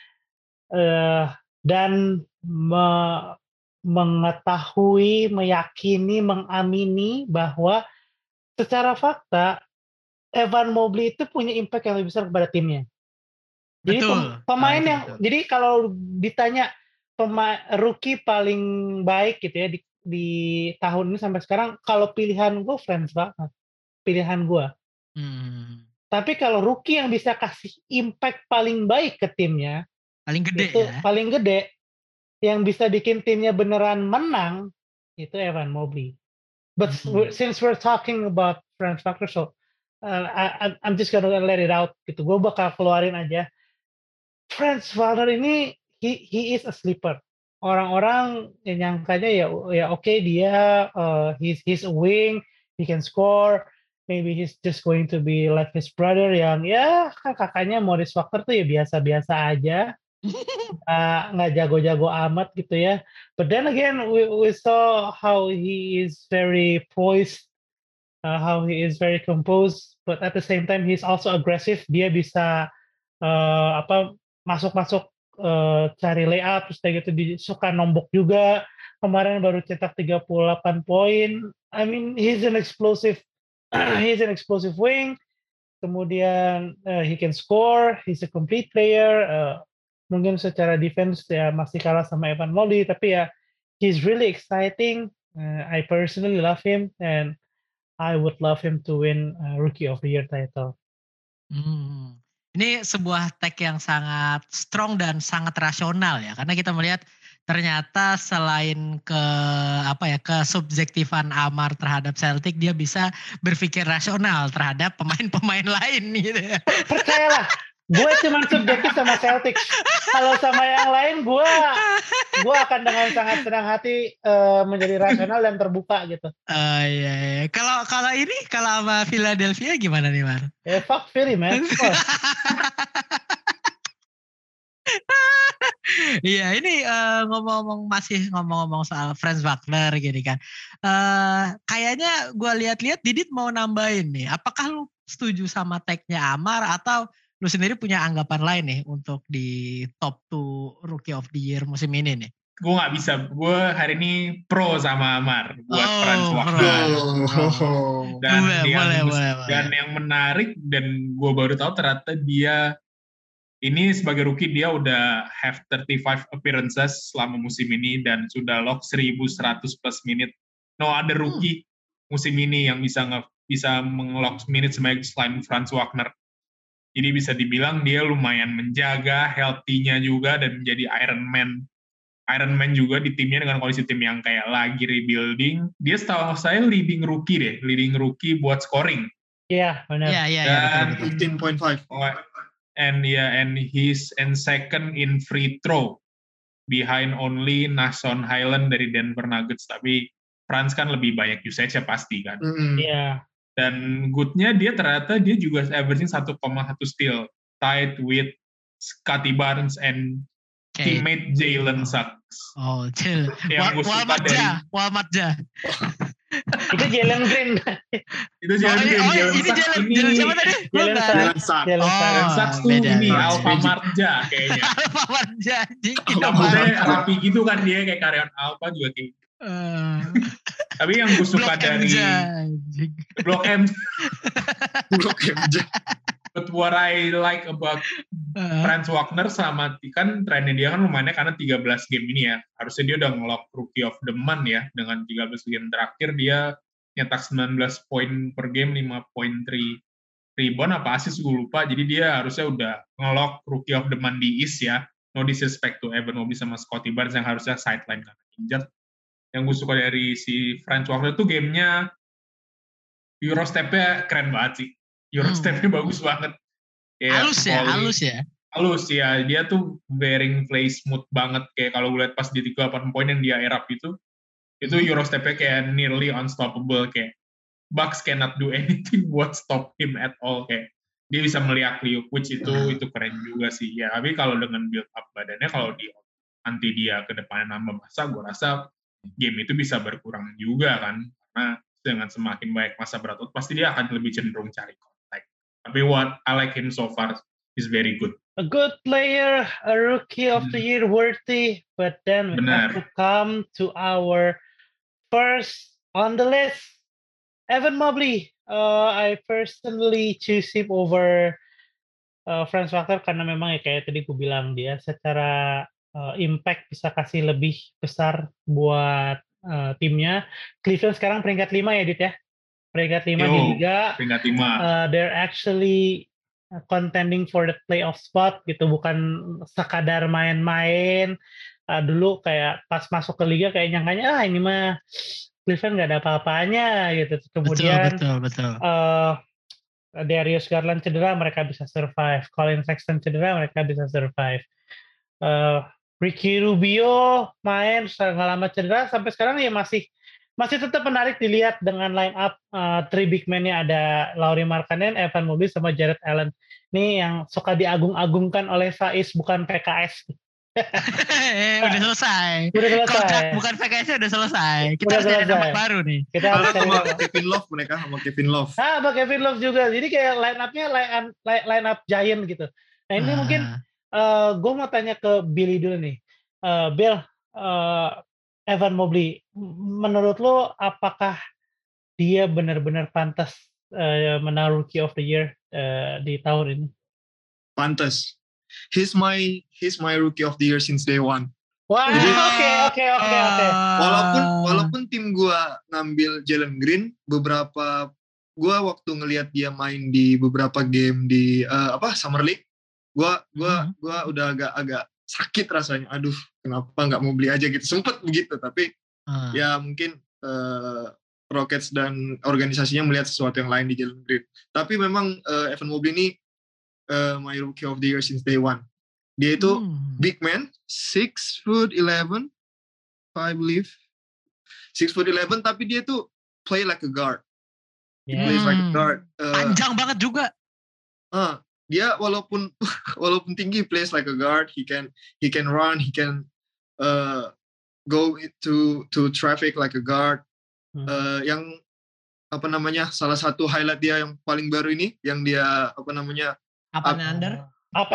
dan mengetahui, meyakini, mengamini bahwa secara fakta Evan Mobley itu punya impact yang lebih besar kepada timnya. Jadi pemain yang betul. Jadi kalau ditanya rookie paling baik gitu ya di tahun ini sampai sekarang, kalau pilihan gue Franz Wagner, pilihan gue. Tapi kalau rookie yang bisa kasih impact paling baik ke timnya, paling gede itu ya. Paling gede, yang bisa bikin timnya beneran menang, itu Evan Mobley. But since we're talking about Franz Wagner, so I'm just gonna let it out gitu. Gue bakal keluarin aja. Franz Wagner ini he is a sleeper. Orang-orang yang nyangkanya ya oke, dia he's a wing, he can score. Maybe he's just going to be like his brother yang ya kan kakaknya Morris Wagner tuh ya biasa-biasa aja. Nggak jago-jago amat gitu ya. But then again, we saw how he is very poised, how he is very composed, but at the same time he's also aggressive. Dia bisa masuk-masuk cari layup, terus kayak gitu suka nombok juga. Kemarin baru cetak 38 poin. I mean, he's an explosive wing. Kemudian he can score, he's a complete player. Mungkin secara defense ya masih kalah sama Evan Mobley, tapi ya he's really exciting. I personally love him and I would love him to win Rookie of the Year title. Ini sebuah take yang sangat strong dan sangat rasional ya, karena kita melihat ternyata selain kesubjektifan Amar terhadap Celtic, dia bisa berpikir rasional terhadap pemain-pemain lain gitu ya. Percayalah, gue cuma subjektif sama Celtic. Kalau sama yang lain, gue akan dengan sangat senang hati menjadi rasional dan terbuka gitu. Iya. Kalau sama Philadelphia gimana nih Mar? Fuck Philly man. Iya, ini ngomong-ngomong soal Franz Wagner gini kan. Kayaknya gue lihat-lihat Didit mau nambahin nih. Apakah lu setuju sama tag-nya Amar atau lu sendiri punya anggapan lain nih untuk di top 2 Rookie of the Year musim ini nih? Gue nggak bisa. Gue hari ini pro sama Amar buat Franz Wagner. Dan yang menarik dan gue baru tahu ternyata dia ini sebagai rookie dia udah have 35 appearances selama musim ini dan sudah lock 1.100 plus minute. No other rookie musim ini yang bisa mengelock minute selain Franz Wagner. Jadi bisa dibilang dia lumayan menjaga healthy-nya juga dan menjadi Iron Man juga di timnya dengan kondisi tim yang kayak lagi rebuilding. Dia setahu saya leading rookie buat scoring. Iya, benar. Iya, 15.5. And he's second in free throw behind only Nason Highland dari Denver Nuggets. Tapi Franz kan lebih banyak usage-nya pasti kan. Iya. Dan good-nya dia ternyata dia juga averaging 1,1 steal, tied with Scottie Barnes and teammate Jalen Suggs. Oh, chill. Yang gue suka dari Walmartja. Itu Jalen Green. Itu Jalen Green. Ini Jalen siapa tadi? Jalen Jalen Suggs. Suggs. Jalen Suggs tuh beda. ini Suggs, Alpha Magic. Marja kayaknya. Alpha Marja anjing. Rambutnya rapi gitu kan dia kayak karyawan Alpha juga kayak. Tapi yang gue suka Blok dari MJ anjing. Blok M. Blok MJ. But what I like about Franz Wagner sama kan trennya dia kan lumayan karena 13 game ini ya. Harusnya dia udah ngelock Rookie of the Month ya. Dengan 13 game terakhir dia nyetak 19 poin per game, 5.3 rebound apa assist gue lupa. Jadi dia harusnya udah ngelock Rookie of the Month di East ya. No disrespect to Evan Mobley sama Scottie Barnes yang harusnya sideline karena injured. Yang gue suka dari si Franz Wagner tuh gamenya Eurostep-nya keren banget sih. Eurostep-nya bagus banget. Kayak Halus ya. Halus ya, dia tuh bearing play smooth banget. Kayak kalau gue lihat pas di 38 poin yang dia erap itu Eurostep-nya kayak nearly unstoppable. Kayak Bucks cannot do anything buat stop him at all. Kayak dia bisa meliak-liuk, which itu keren juga sih. Ya, tapi kalau dengan build up badannya, kalau nanti dia ke depannya nambah masa, gue rasa game itu bisa berkurang juga kan. Karena dengan semakin banyak masa berotot, pasti dia akan lebih cenderung cari kontak. Tapi what I like him so far is very good. A good player, a rookie of the year worthy, but then we have to come to our first on the list, Evan Mobley. I personally choose him over Franz Wagner karena memang ya kayak tadi gue bilang dia secara impact bisa kasih lebih besar buat timnya. Cleveland sekarang peringkat 5 ya, Dit ya? Peringkat 5 di Liga. Peringkat 5. They're actually contending for the playoff spot gitu, bukan sekadar main-main. Dulu kayak pas masuk ke Liga kayak nyangkanya ini mah Cleveland nggak ada apa-apanya gitu. Kemudian betul. Darius Garland cedera, mereka bisa survive. Colin Sexton cedera, mereka bisa survive. Ricky Rubio main nggak lama cedera, sampai sekarang ya masih tetap menarik dilihat dengan line up three big man-nya ada Lauri Markkanen, Evan Mobley sama Jarrett Allen. Ini yang suka diagung-agungkan oleh Faiz, bukan PKS. Udah selesai. Kontrak bukan PKS udah selesai. Kita Udah harus cari selesai. nama baru nih. Kita harus cari sama Kevin Love mereka sama Kevin Love. sama Kevin Love juga. Jadi kayak line up-nya line up giant gitu. Nah ini mungkin gue mau tanya ke Billy dulu nih. Bill, Evan Mobley, menurut lo apakah dia benar-benar pantas menang Rookie of the Year di tahun ini? Pantas. He's my Rookie of the Year since day one. Wah, oke. Walaupun tim gua ngambil Jalen Green, gua waktu ngelihat dia main di beberapa game di Summer League, gua udah agak sakit rasanya. Aduh, kenapa nggak mau beli aja gitu. Sempet begitu, tapi ya mungkin Rockets dan organisasinya melihat sesuatu yang lain di Jalen Green. Tapi memang Evan Mobley ini my Rookie of the Year since day one. Dia itu big man, 6'11", I believe. 6'11", tapi dia tuh play like a guard. He plays like a guard. Panjang banget juga. Dia walaupun tinggi, plays like a guard. He can run, he can go to traffic like a guard. Yang salah satu highlight dia yang paling baru ini, yang dia Up and under.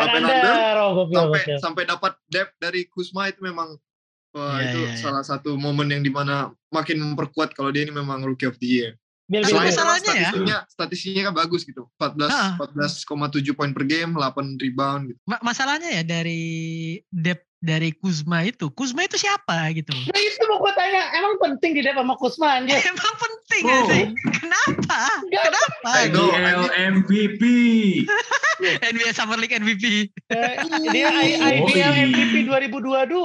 Sampai dapat depth dari Kuzma, itu memang salah satu momen yang dimana makin memperkuat kalau dia ini memang Rookie of the Year. Selain statistiknya kan bagus gitu, 14,7 poin per game, 8 rebound gitu. Masalahnya ya dari depth dari Kuzma itu siapa gitu? Nah itu mau gue tanya, emang penting di depth sama Kuzma anjir? Emang penting gak sih? Kenapa? IBL MVP. NBA Summer League MVP. Dia IBL MVP 2022.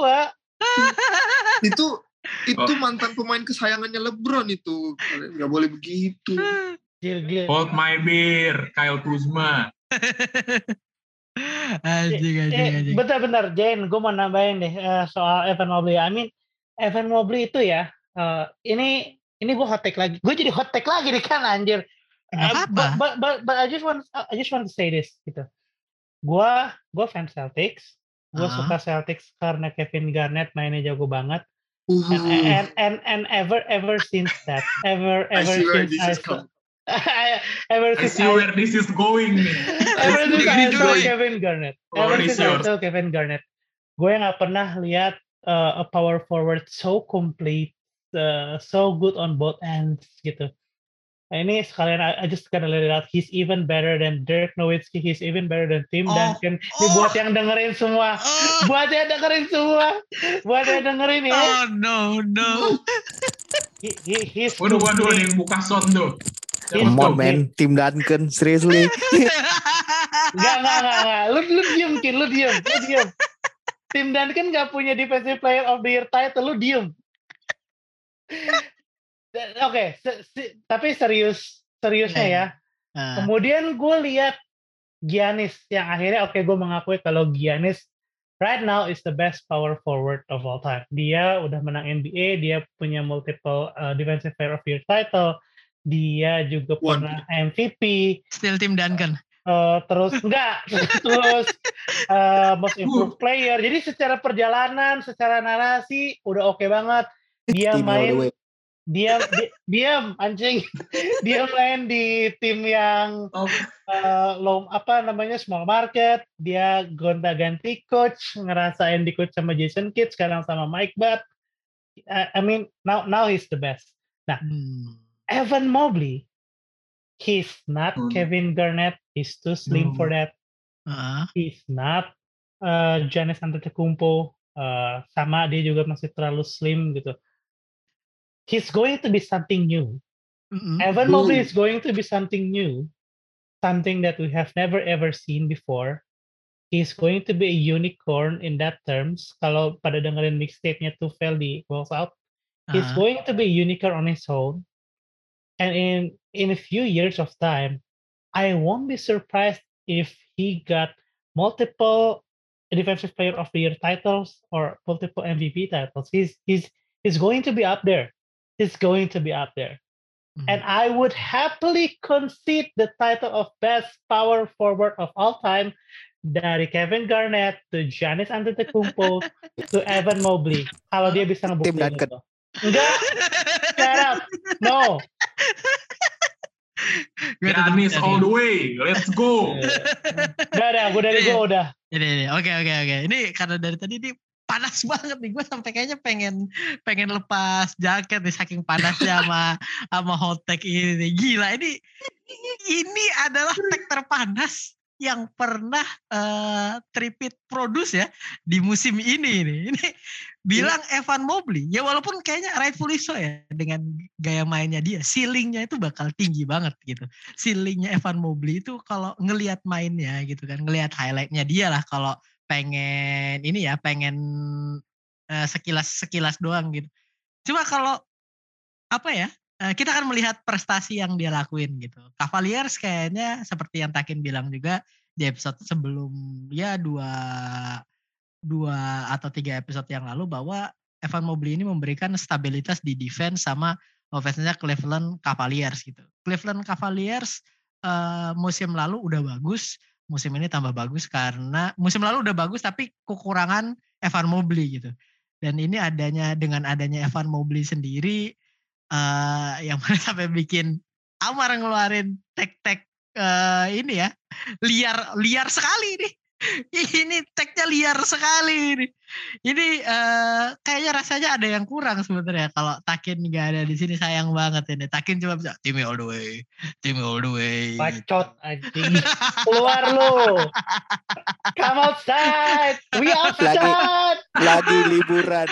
Itu mantan pemain kesayangannya LeBron itu. Kalian nggak boleh begitu. Hold my beer, Kyle Kuzma. Anjing. Bentar, Jane, gue mau nambahin deh soal Evan Mobley. Evan Mobley itu ya, ini gue hot take lagi. Gue jadi hot take lagi nih kan anjir. But I just want to say this gitu. Gue fans Celtics. Gue suka Celtics karena Kevin Garnett mainnya jago banget. And ever since that, ever I see where since this I is saw, coming. ever I since see where this is going nih. ever since I Ini saw dulu ya. Kevin Garnett, Floor is yours. gue nggak pernah lihat a power forward so complete, so good on both ends gitu. Nah, ini sekalian I just gotta let it out. He's even better than Dirk Nowitzki. He's even better than Tim Duncan. Ini buat yang dengerin semua. Buat yang dengerin ya. Oh no. He's Waduh, ada complete. yang buka sound tuh. He's Come on complete. man, Tim Duncan, seriously. Enggak. Lu diem, Kin. Lu diem. Tim Duncan nggak punya Defensive Player of the Year title. Lu diem. Oke, tapi seriusnya ya. Kemudian gue lihat Giannis yang akhirnya gue mengakui kalau Giannis right now is the best power forward of all time. Dia udah menang NBA, dia punya multiple Defensive Player of the Year title, dia juga pernah MVP. Still Tim Duncan. Terus most improved player. Jadi secara perjalanan, secara narasi udah oke banget. Dia main dia anjing. Dia main di tim yang small market. Dia gonta-ganti coach, ngerasain di coach sama Jason Kidd, sekarang sama Mike Butt. I mean, now he's the best. Nah, Evan Mobley, he's not Kevin Garnett. He's too slim for that. He's not Giannis Antetokounmpo. Sama dia juga masih terlalu slim gitu. He's going to be something new. Evan Mobley is going to be something new, something that we have never ever seen before. He's going to be a unicorn in that terms. Kalau pada dengerin mixtape-nya Tufel di Walls Out, he's going to be a unicorn on his own. And in a few years of time, I won't be surprised if he got multiple Defensive Player of the Year titles or multiple MVP titles. He's going to be up there. And I would happily concede the title of best power forward of all time dari Kevin Garnett to Giannis Antetokounmpo to Evan Mobley. Kalau dia bisa ngebuktiin itu. Enggak. Shut up. No. Giannis all the way. Let's go. Udah dari gue udah. Oke. Ini karena dari tadi ini panas banget nih, gue sampai kayaknya pengen lepas jaket nih saking panasnya sama hot tag ini nih. Gila, ini adalah tag terpanas yang pernah Tripit produce ya di musim ini nih. Ini bilang Evan Mobley, ya walaupun kayaknya rightfully so ya dengan gaya mainnya dia, ceilingnya itu bakal tinggi banget gitu. Ceilingnya Evan Mobley itu kalau ngelihat mainnya gitu kan, ngelihat highlightnya dia lah kalau pengen sekilas doang gitu. Cuma kalau kita akan melihat prestasi yang dia lakuin gitu. Cavaliers kayaknya seperti yang Takin bilang juga di episode sebelum ya 2 atau 3 episode yang lalu bahwa Evan Mobley ini memberikan stabilitas di defense sama offense-nya Cleveland Cavaliers gitu. Cleveland Cavaliers musim lalu udah bagus, musim ini tambah bagus karena musim lalu udah bagus tapi kekurangan Evan Mobley gitu. Dan ini dengan adanya Evan Mobley sendiri yang mana sampai bikin Amar ngeluarin tag ini ya liar sekali nih. Ini tagnya liar sekali nih. Ini kayaknya rasanya ada yang kurang sebenarnya kalau Takin nggak ada di sini, sayang banget ini. Takin cuma bisa Timmy all the way. Bacot anjing. Keluar lu. Come outside. We outside. Lagi liburan.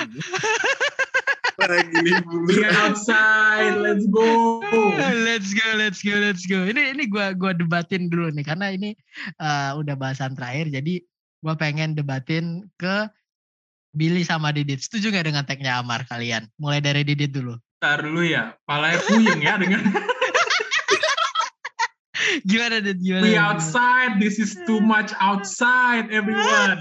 We outside. Let's go. Let's go. Ini gua debatin dulu nih karena ini udah bahasan terakhir. Jadi gua pengen debatin ke Billy sama Didit. Setuju nggak dengan tagnya Amar kalian? Mulai dari Didit dulu. Ntar dulu ya. Palanya puyeng ya dengan. Gimana Didit? We outside. This is too much outside, everyone.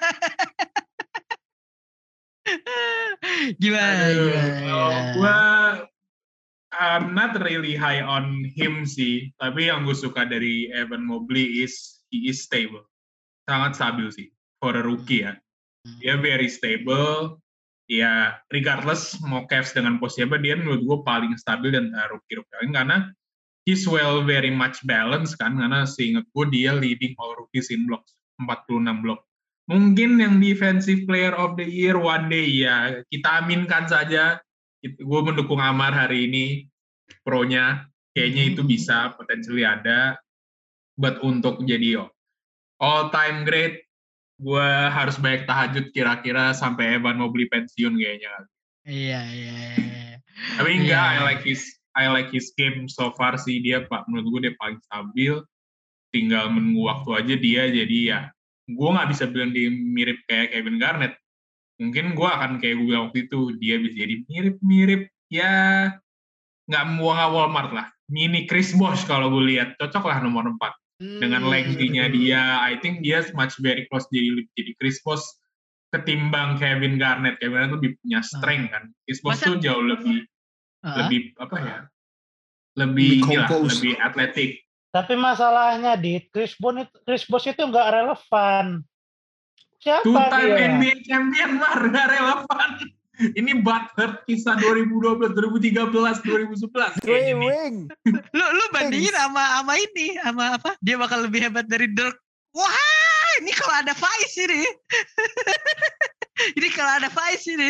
Gimana? Gue I'm not really high on him sih, tapi yang gue suka dari Evan Mobley he is stable, sangat stabil sih for a rookie ya. Dia very stable, ya regardless mau Cavs dengan posisi apa, dia menurut gue paling stabil dan rookie-rookie lain karena he's very much balanced kan, karena seingat gue dia leading all rookies in blocks, 46 blok. Mungkin yang defensive player of the year one day ya, kita aminkan saja. Gue mendukung Amar hari ini, pro-nya, kayaknya itu bisa, potentially ada. But untuk jadi all time great, gue harus banyak tahajud kira-kira sampai Evan Mobley pensiun kayaknya. Iya. Tapi enggak, Iya. I like his game so far sih, dia menurut gue dia paling stabil, tinggal menunggu waktu aja dia, jadi ya gue nggak bisa bilang dia mirip kayak Kevin Garnett. Mungkin gue akan kayak gue bilang waktu itu, dia bisa jadi mirip-mirip, ya nggak Walmart lah, mini Chris Bosh kalau gue lihat, cocok lah nomor 4. Dengan lengthy-nya dia, I think dia much very close jadi Chris Bosh ketimbang Kevin Garnett. Kevin Garnett lebih punya strength kan. Chris Bosh tuh jauh lebih apa ya? Lebih atletik. Tapi masalahnya di Chris Bosh itu nggak relevan. Siapa Two-time dia? NBA champion mah nggak relevan. Ini Butler kisah 2012, 2013, 2011 kayak gini. Lu bandingin sama ini, sama apa? Dia bakal lebih hebat dari Dirk. Wah, ini kalau ada Faiz ini. Ini kalau ada Faiz ini.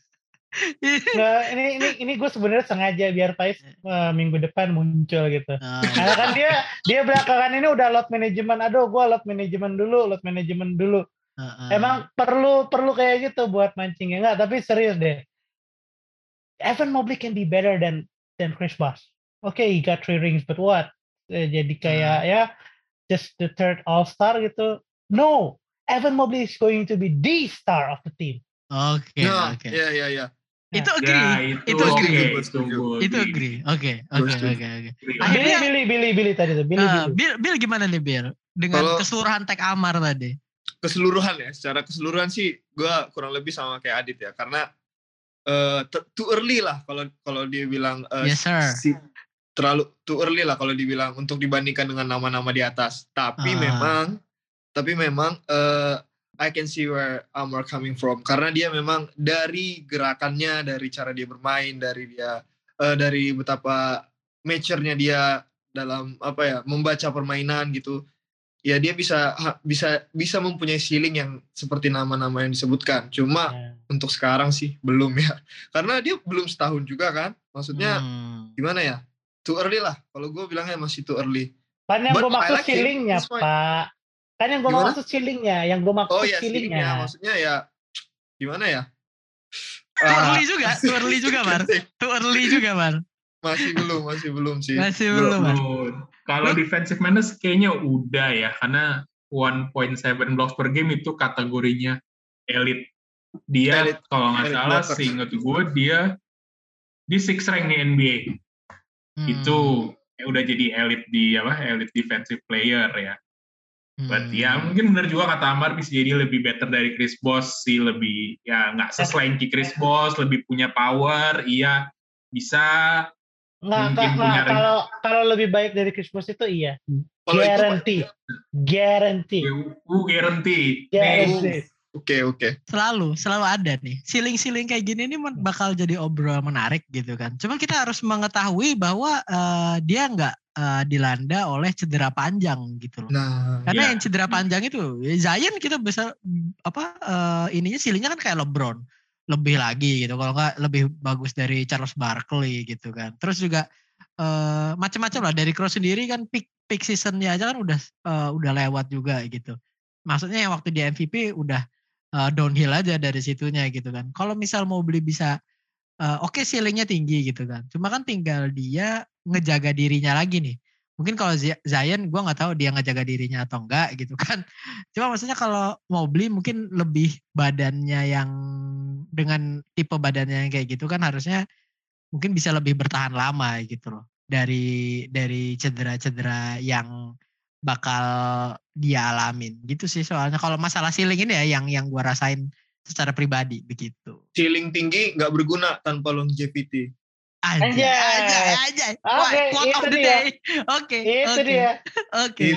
Nah, ini gue sebenarnya sengaja biar Faiz minggu depan muncul gitu. Karena kan dia belakangan ini udah load management. Aduh, gue load management dulu. Emang perlu kayak gitu buat mancing ya enggak? Tapi serius deh. Evan Mobley can be better than Chris Bosh. Okay, he got 3 rings, but what? Jadi kayak ya just the third all-star gitu. No, Evan Mobley is going to be the star of the team. Oke. Ya. Itu agree. Itu agree. Oke. Akhirnya Billy tadi tuh. Bill gimana nih Bill? Dengan keseluruhan tag Amar tadi. Keseluruhan ya, secara keseluruhan sih gue kurang lebih sama kayak Adit ya, karena too early lah kalau dia bilang yes, sir. Terlalu too early lah kalau dibilang untuk dibandingkan dengan nama-nama di atas. Tapi memang I can see where Amar coming from, karena dia memang dari gerakannya, dari cara dia bermain, dari betapa mature-nya dia dalam membaca permainan gitu. Ya dia bisa mempunyai ceiling yang seperti nama-nama yang disebutkan. Cuma untuk sekarang sih belum ya. Karena dia belum setahun juga kan. Maksudnya gimana ya? Too early lah. Kalau gue bilangnya masih too early. Kan yang gue maksud ceilingnya, Pak. Kan yang gue maksud ceilingnya. Ceilingnya. Maksudnya ya gimana ya? Too early juga, Mar. Masih belum sih. Masih belum. Kalau defensive minutes kayaknya udah ya, karena 1.7 blocks per game itu kategorinya elite. Dia kalau nggak salah, seingat gue dia di 6 rank di NBA. Itu udah jadi elite elite defensive player ya. But ya mungkin benar juga kata Amar, bisa jadi lebih better dari Chris Bosh sih, lebih ya nggak seslanky Chris Bosh, lebih punya power, iya bisa. Kalau lebih baik dari Chris Bosh itu iya. Guarantee. Oke. Selalu ada nih. Siling-siling kayak gini ini bakal jadi obrolan menarik gitu kan. Cuma kita harus mengetahui bahwa dia nggak dilanda oleh cedera panjang gitu loh. Karena yang cedera panjang itu Zion kita bisa ininya silingnya kan kayak LeBron. Lebih lagi gitu, kalau nggak lebih bagus dari Charles Barkley gitu kan. Terus juga macam-macam lah, dari Cross sendiri kan peak seasonnya aja kan udah lewat juga gitu. Maksudnya yang waktu di MVP udah downhill aja dari situnya gitu kan. Kalau misal Mobley bisa oke, ceilingnya tinggi gitu kan. Cuma kan tinggal dia ngejaga dirinya lagi nih. Mungkin kalau Zion gue nggak tahu dia ngejaga dirinya atau enggak gitu kan. Cuma maksudnya kalau Mobley mungkin lebih badannya yang dengan tipe badannya yang kayak gitu kan harusnya mungkin bisa lebih bertahan lama gitu loh. Dari cedera-cedera yang bakal dia alamin gitu sih. Soalnya kalau masalah ceiling ini ya yang gue rasain secara pribadi begitu. Ceiling tinggi nggak berguna tanpa longevity. Anjay. Quote of the day. Oke. Itu dia. Oke.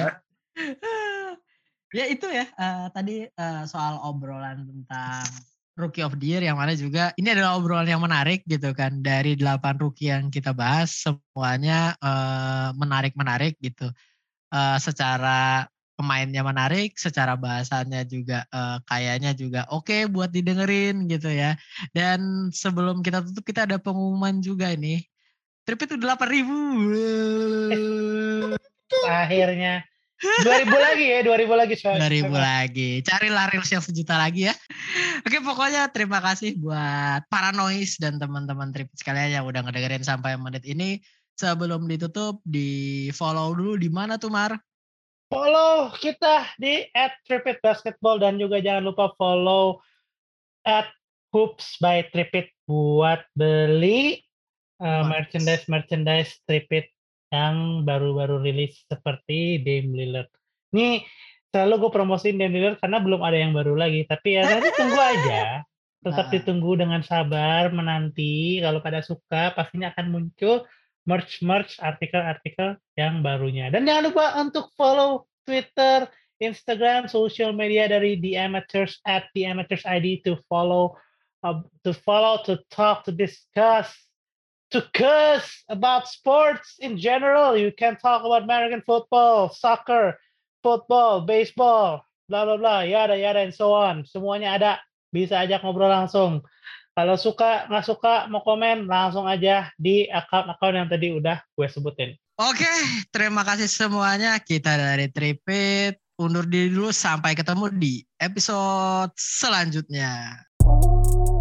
Ya itu ya tadi soal obrolan tentang Rookie of the Year, yang mana juga ini adalah obrolan yang menarik gitu kan. Dari 8 rookie yang kita bahas, semuanya menarik-menarik gitu. Secara pemainnya menarik, secara bahasannya juga kayaknya juga oke buat didengerin gitu ya. Dan sebelum kita tutup, kita ada pengumuman juga nih. Tripit udah 8.000. Akhirnya 2000 lagi ya, 2000 lagi. 2000 lagi. Carilah reels yang 1 juta lagi ya. Oke, pokoknya terima kasih buat Paranoid dan teman-teman Tripit sekalian yang udah ngedengerin sampai menit ini. Sebelum ditutup, di follow dulu di mana tuh, Mar? Follow kita di @tripitbasketball dan juga jangan lupa follow @hoops_by_tripit buat beli merchandise Tripit yang baru-baru rilis seperti Dame Lillard. Ini selalu gue promosiin Dame Lillard karena belum ada yang baru lagi. Tapi ya nanti tunggu aja. Tetap ditunggu dengan sabar, menanti. Kalau pada suka, pastinya akan muncul merch, artikel-artikel yang barunya. Dan jangan lupa untuk follow Twitter, Instagram, social media dari The Amateurs @TheAmatorsID to follow, to talk, to discuss, to cuss about sports in general. You can talk about American football, soccer, football, baseball, blah blah blah, yada yada and so on. Semuanya ada. Bisa ajak ngobrol langsung. Kalau suka, nggak suka, mau komen, langsung aja di akun yang tadi udah gue sebutin. Oke, terima kasih semuanya. Kita dari Tripit undur diri dulu, sampai ketemu di episode selanjutnya.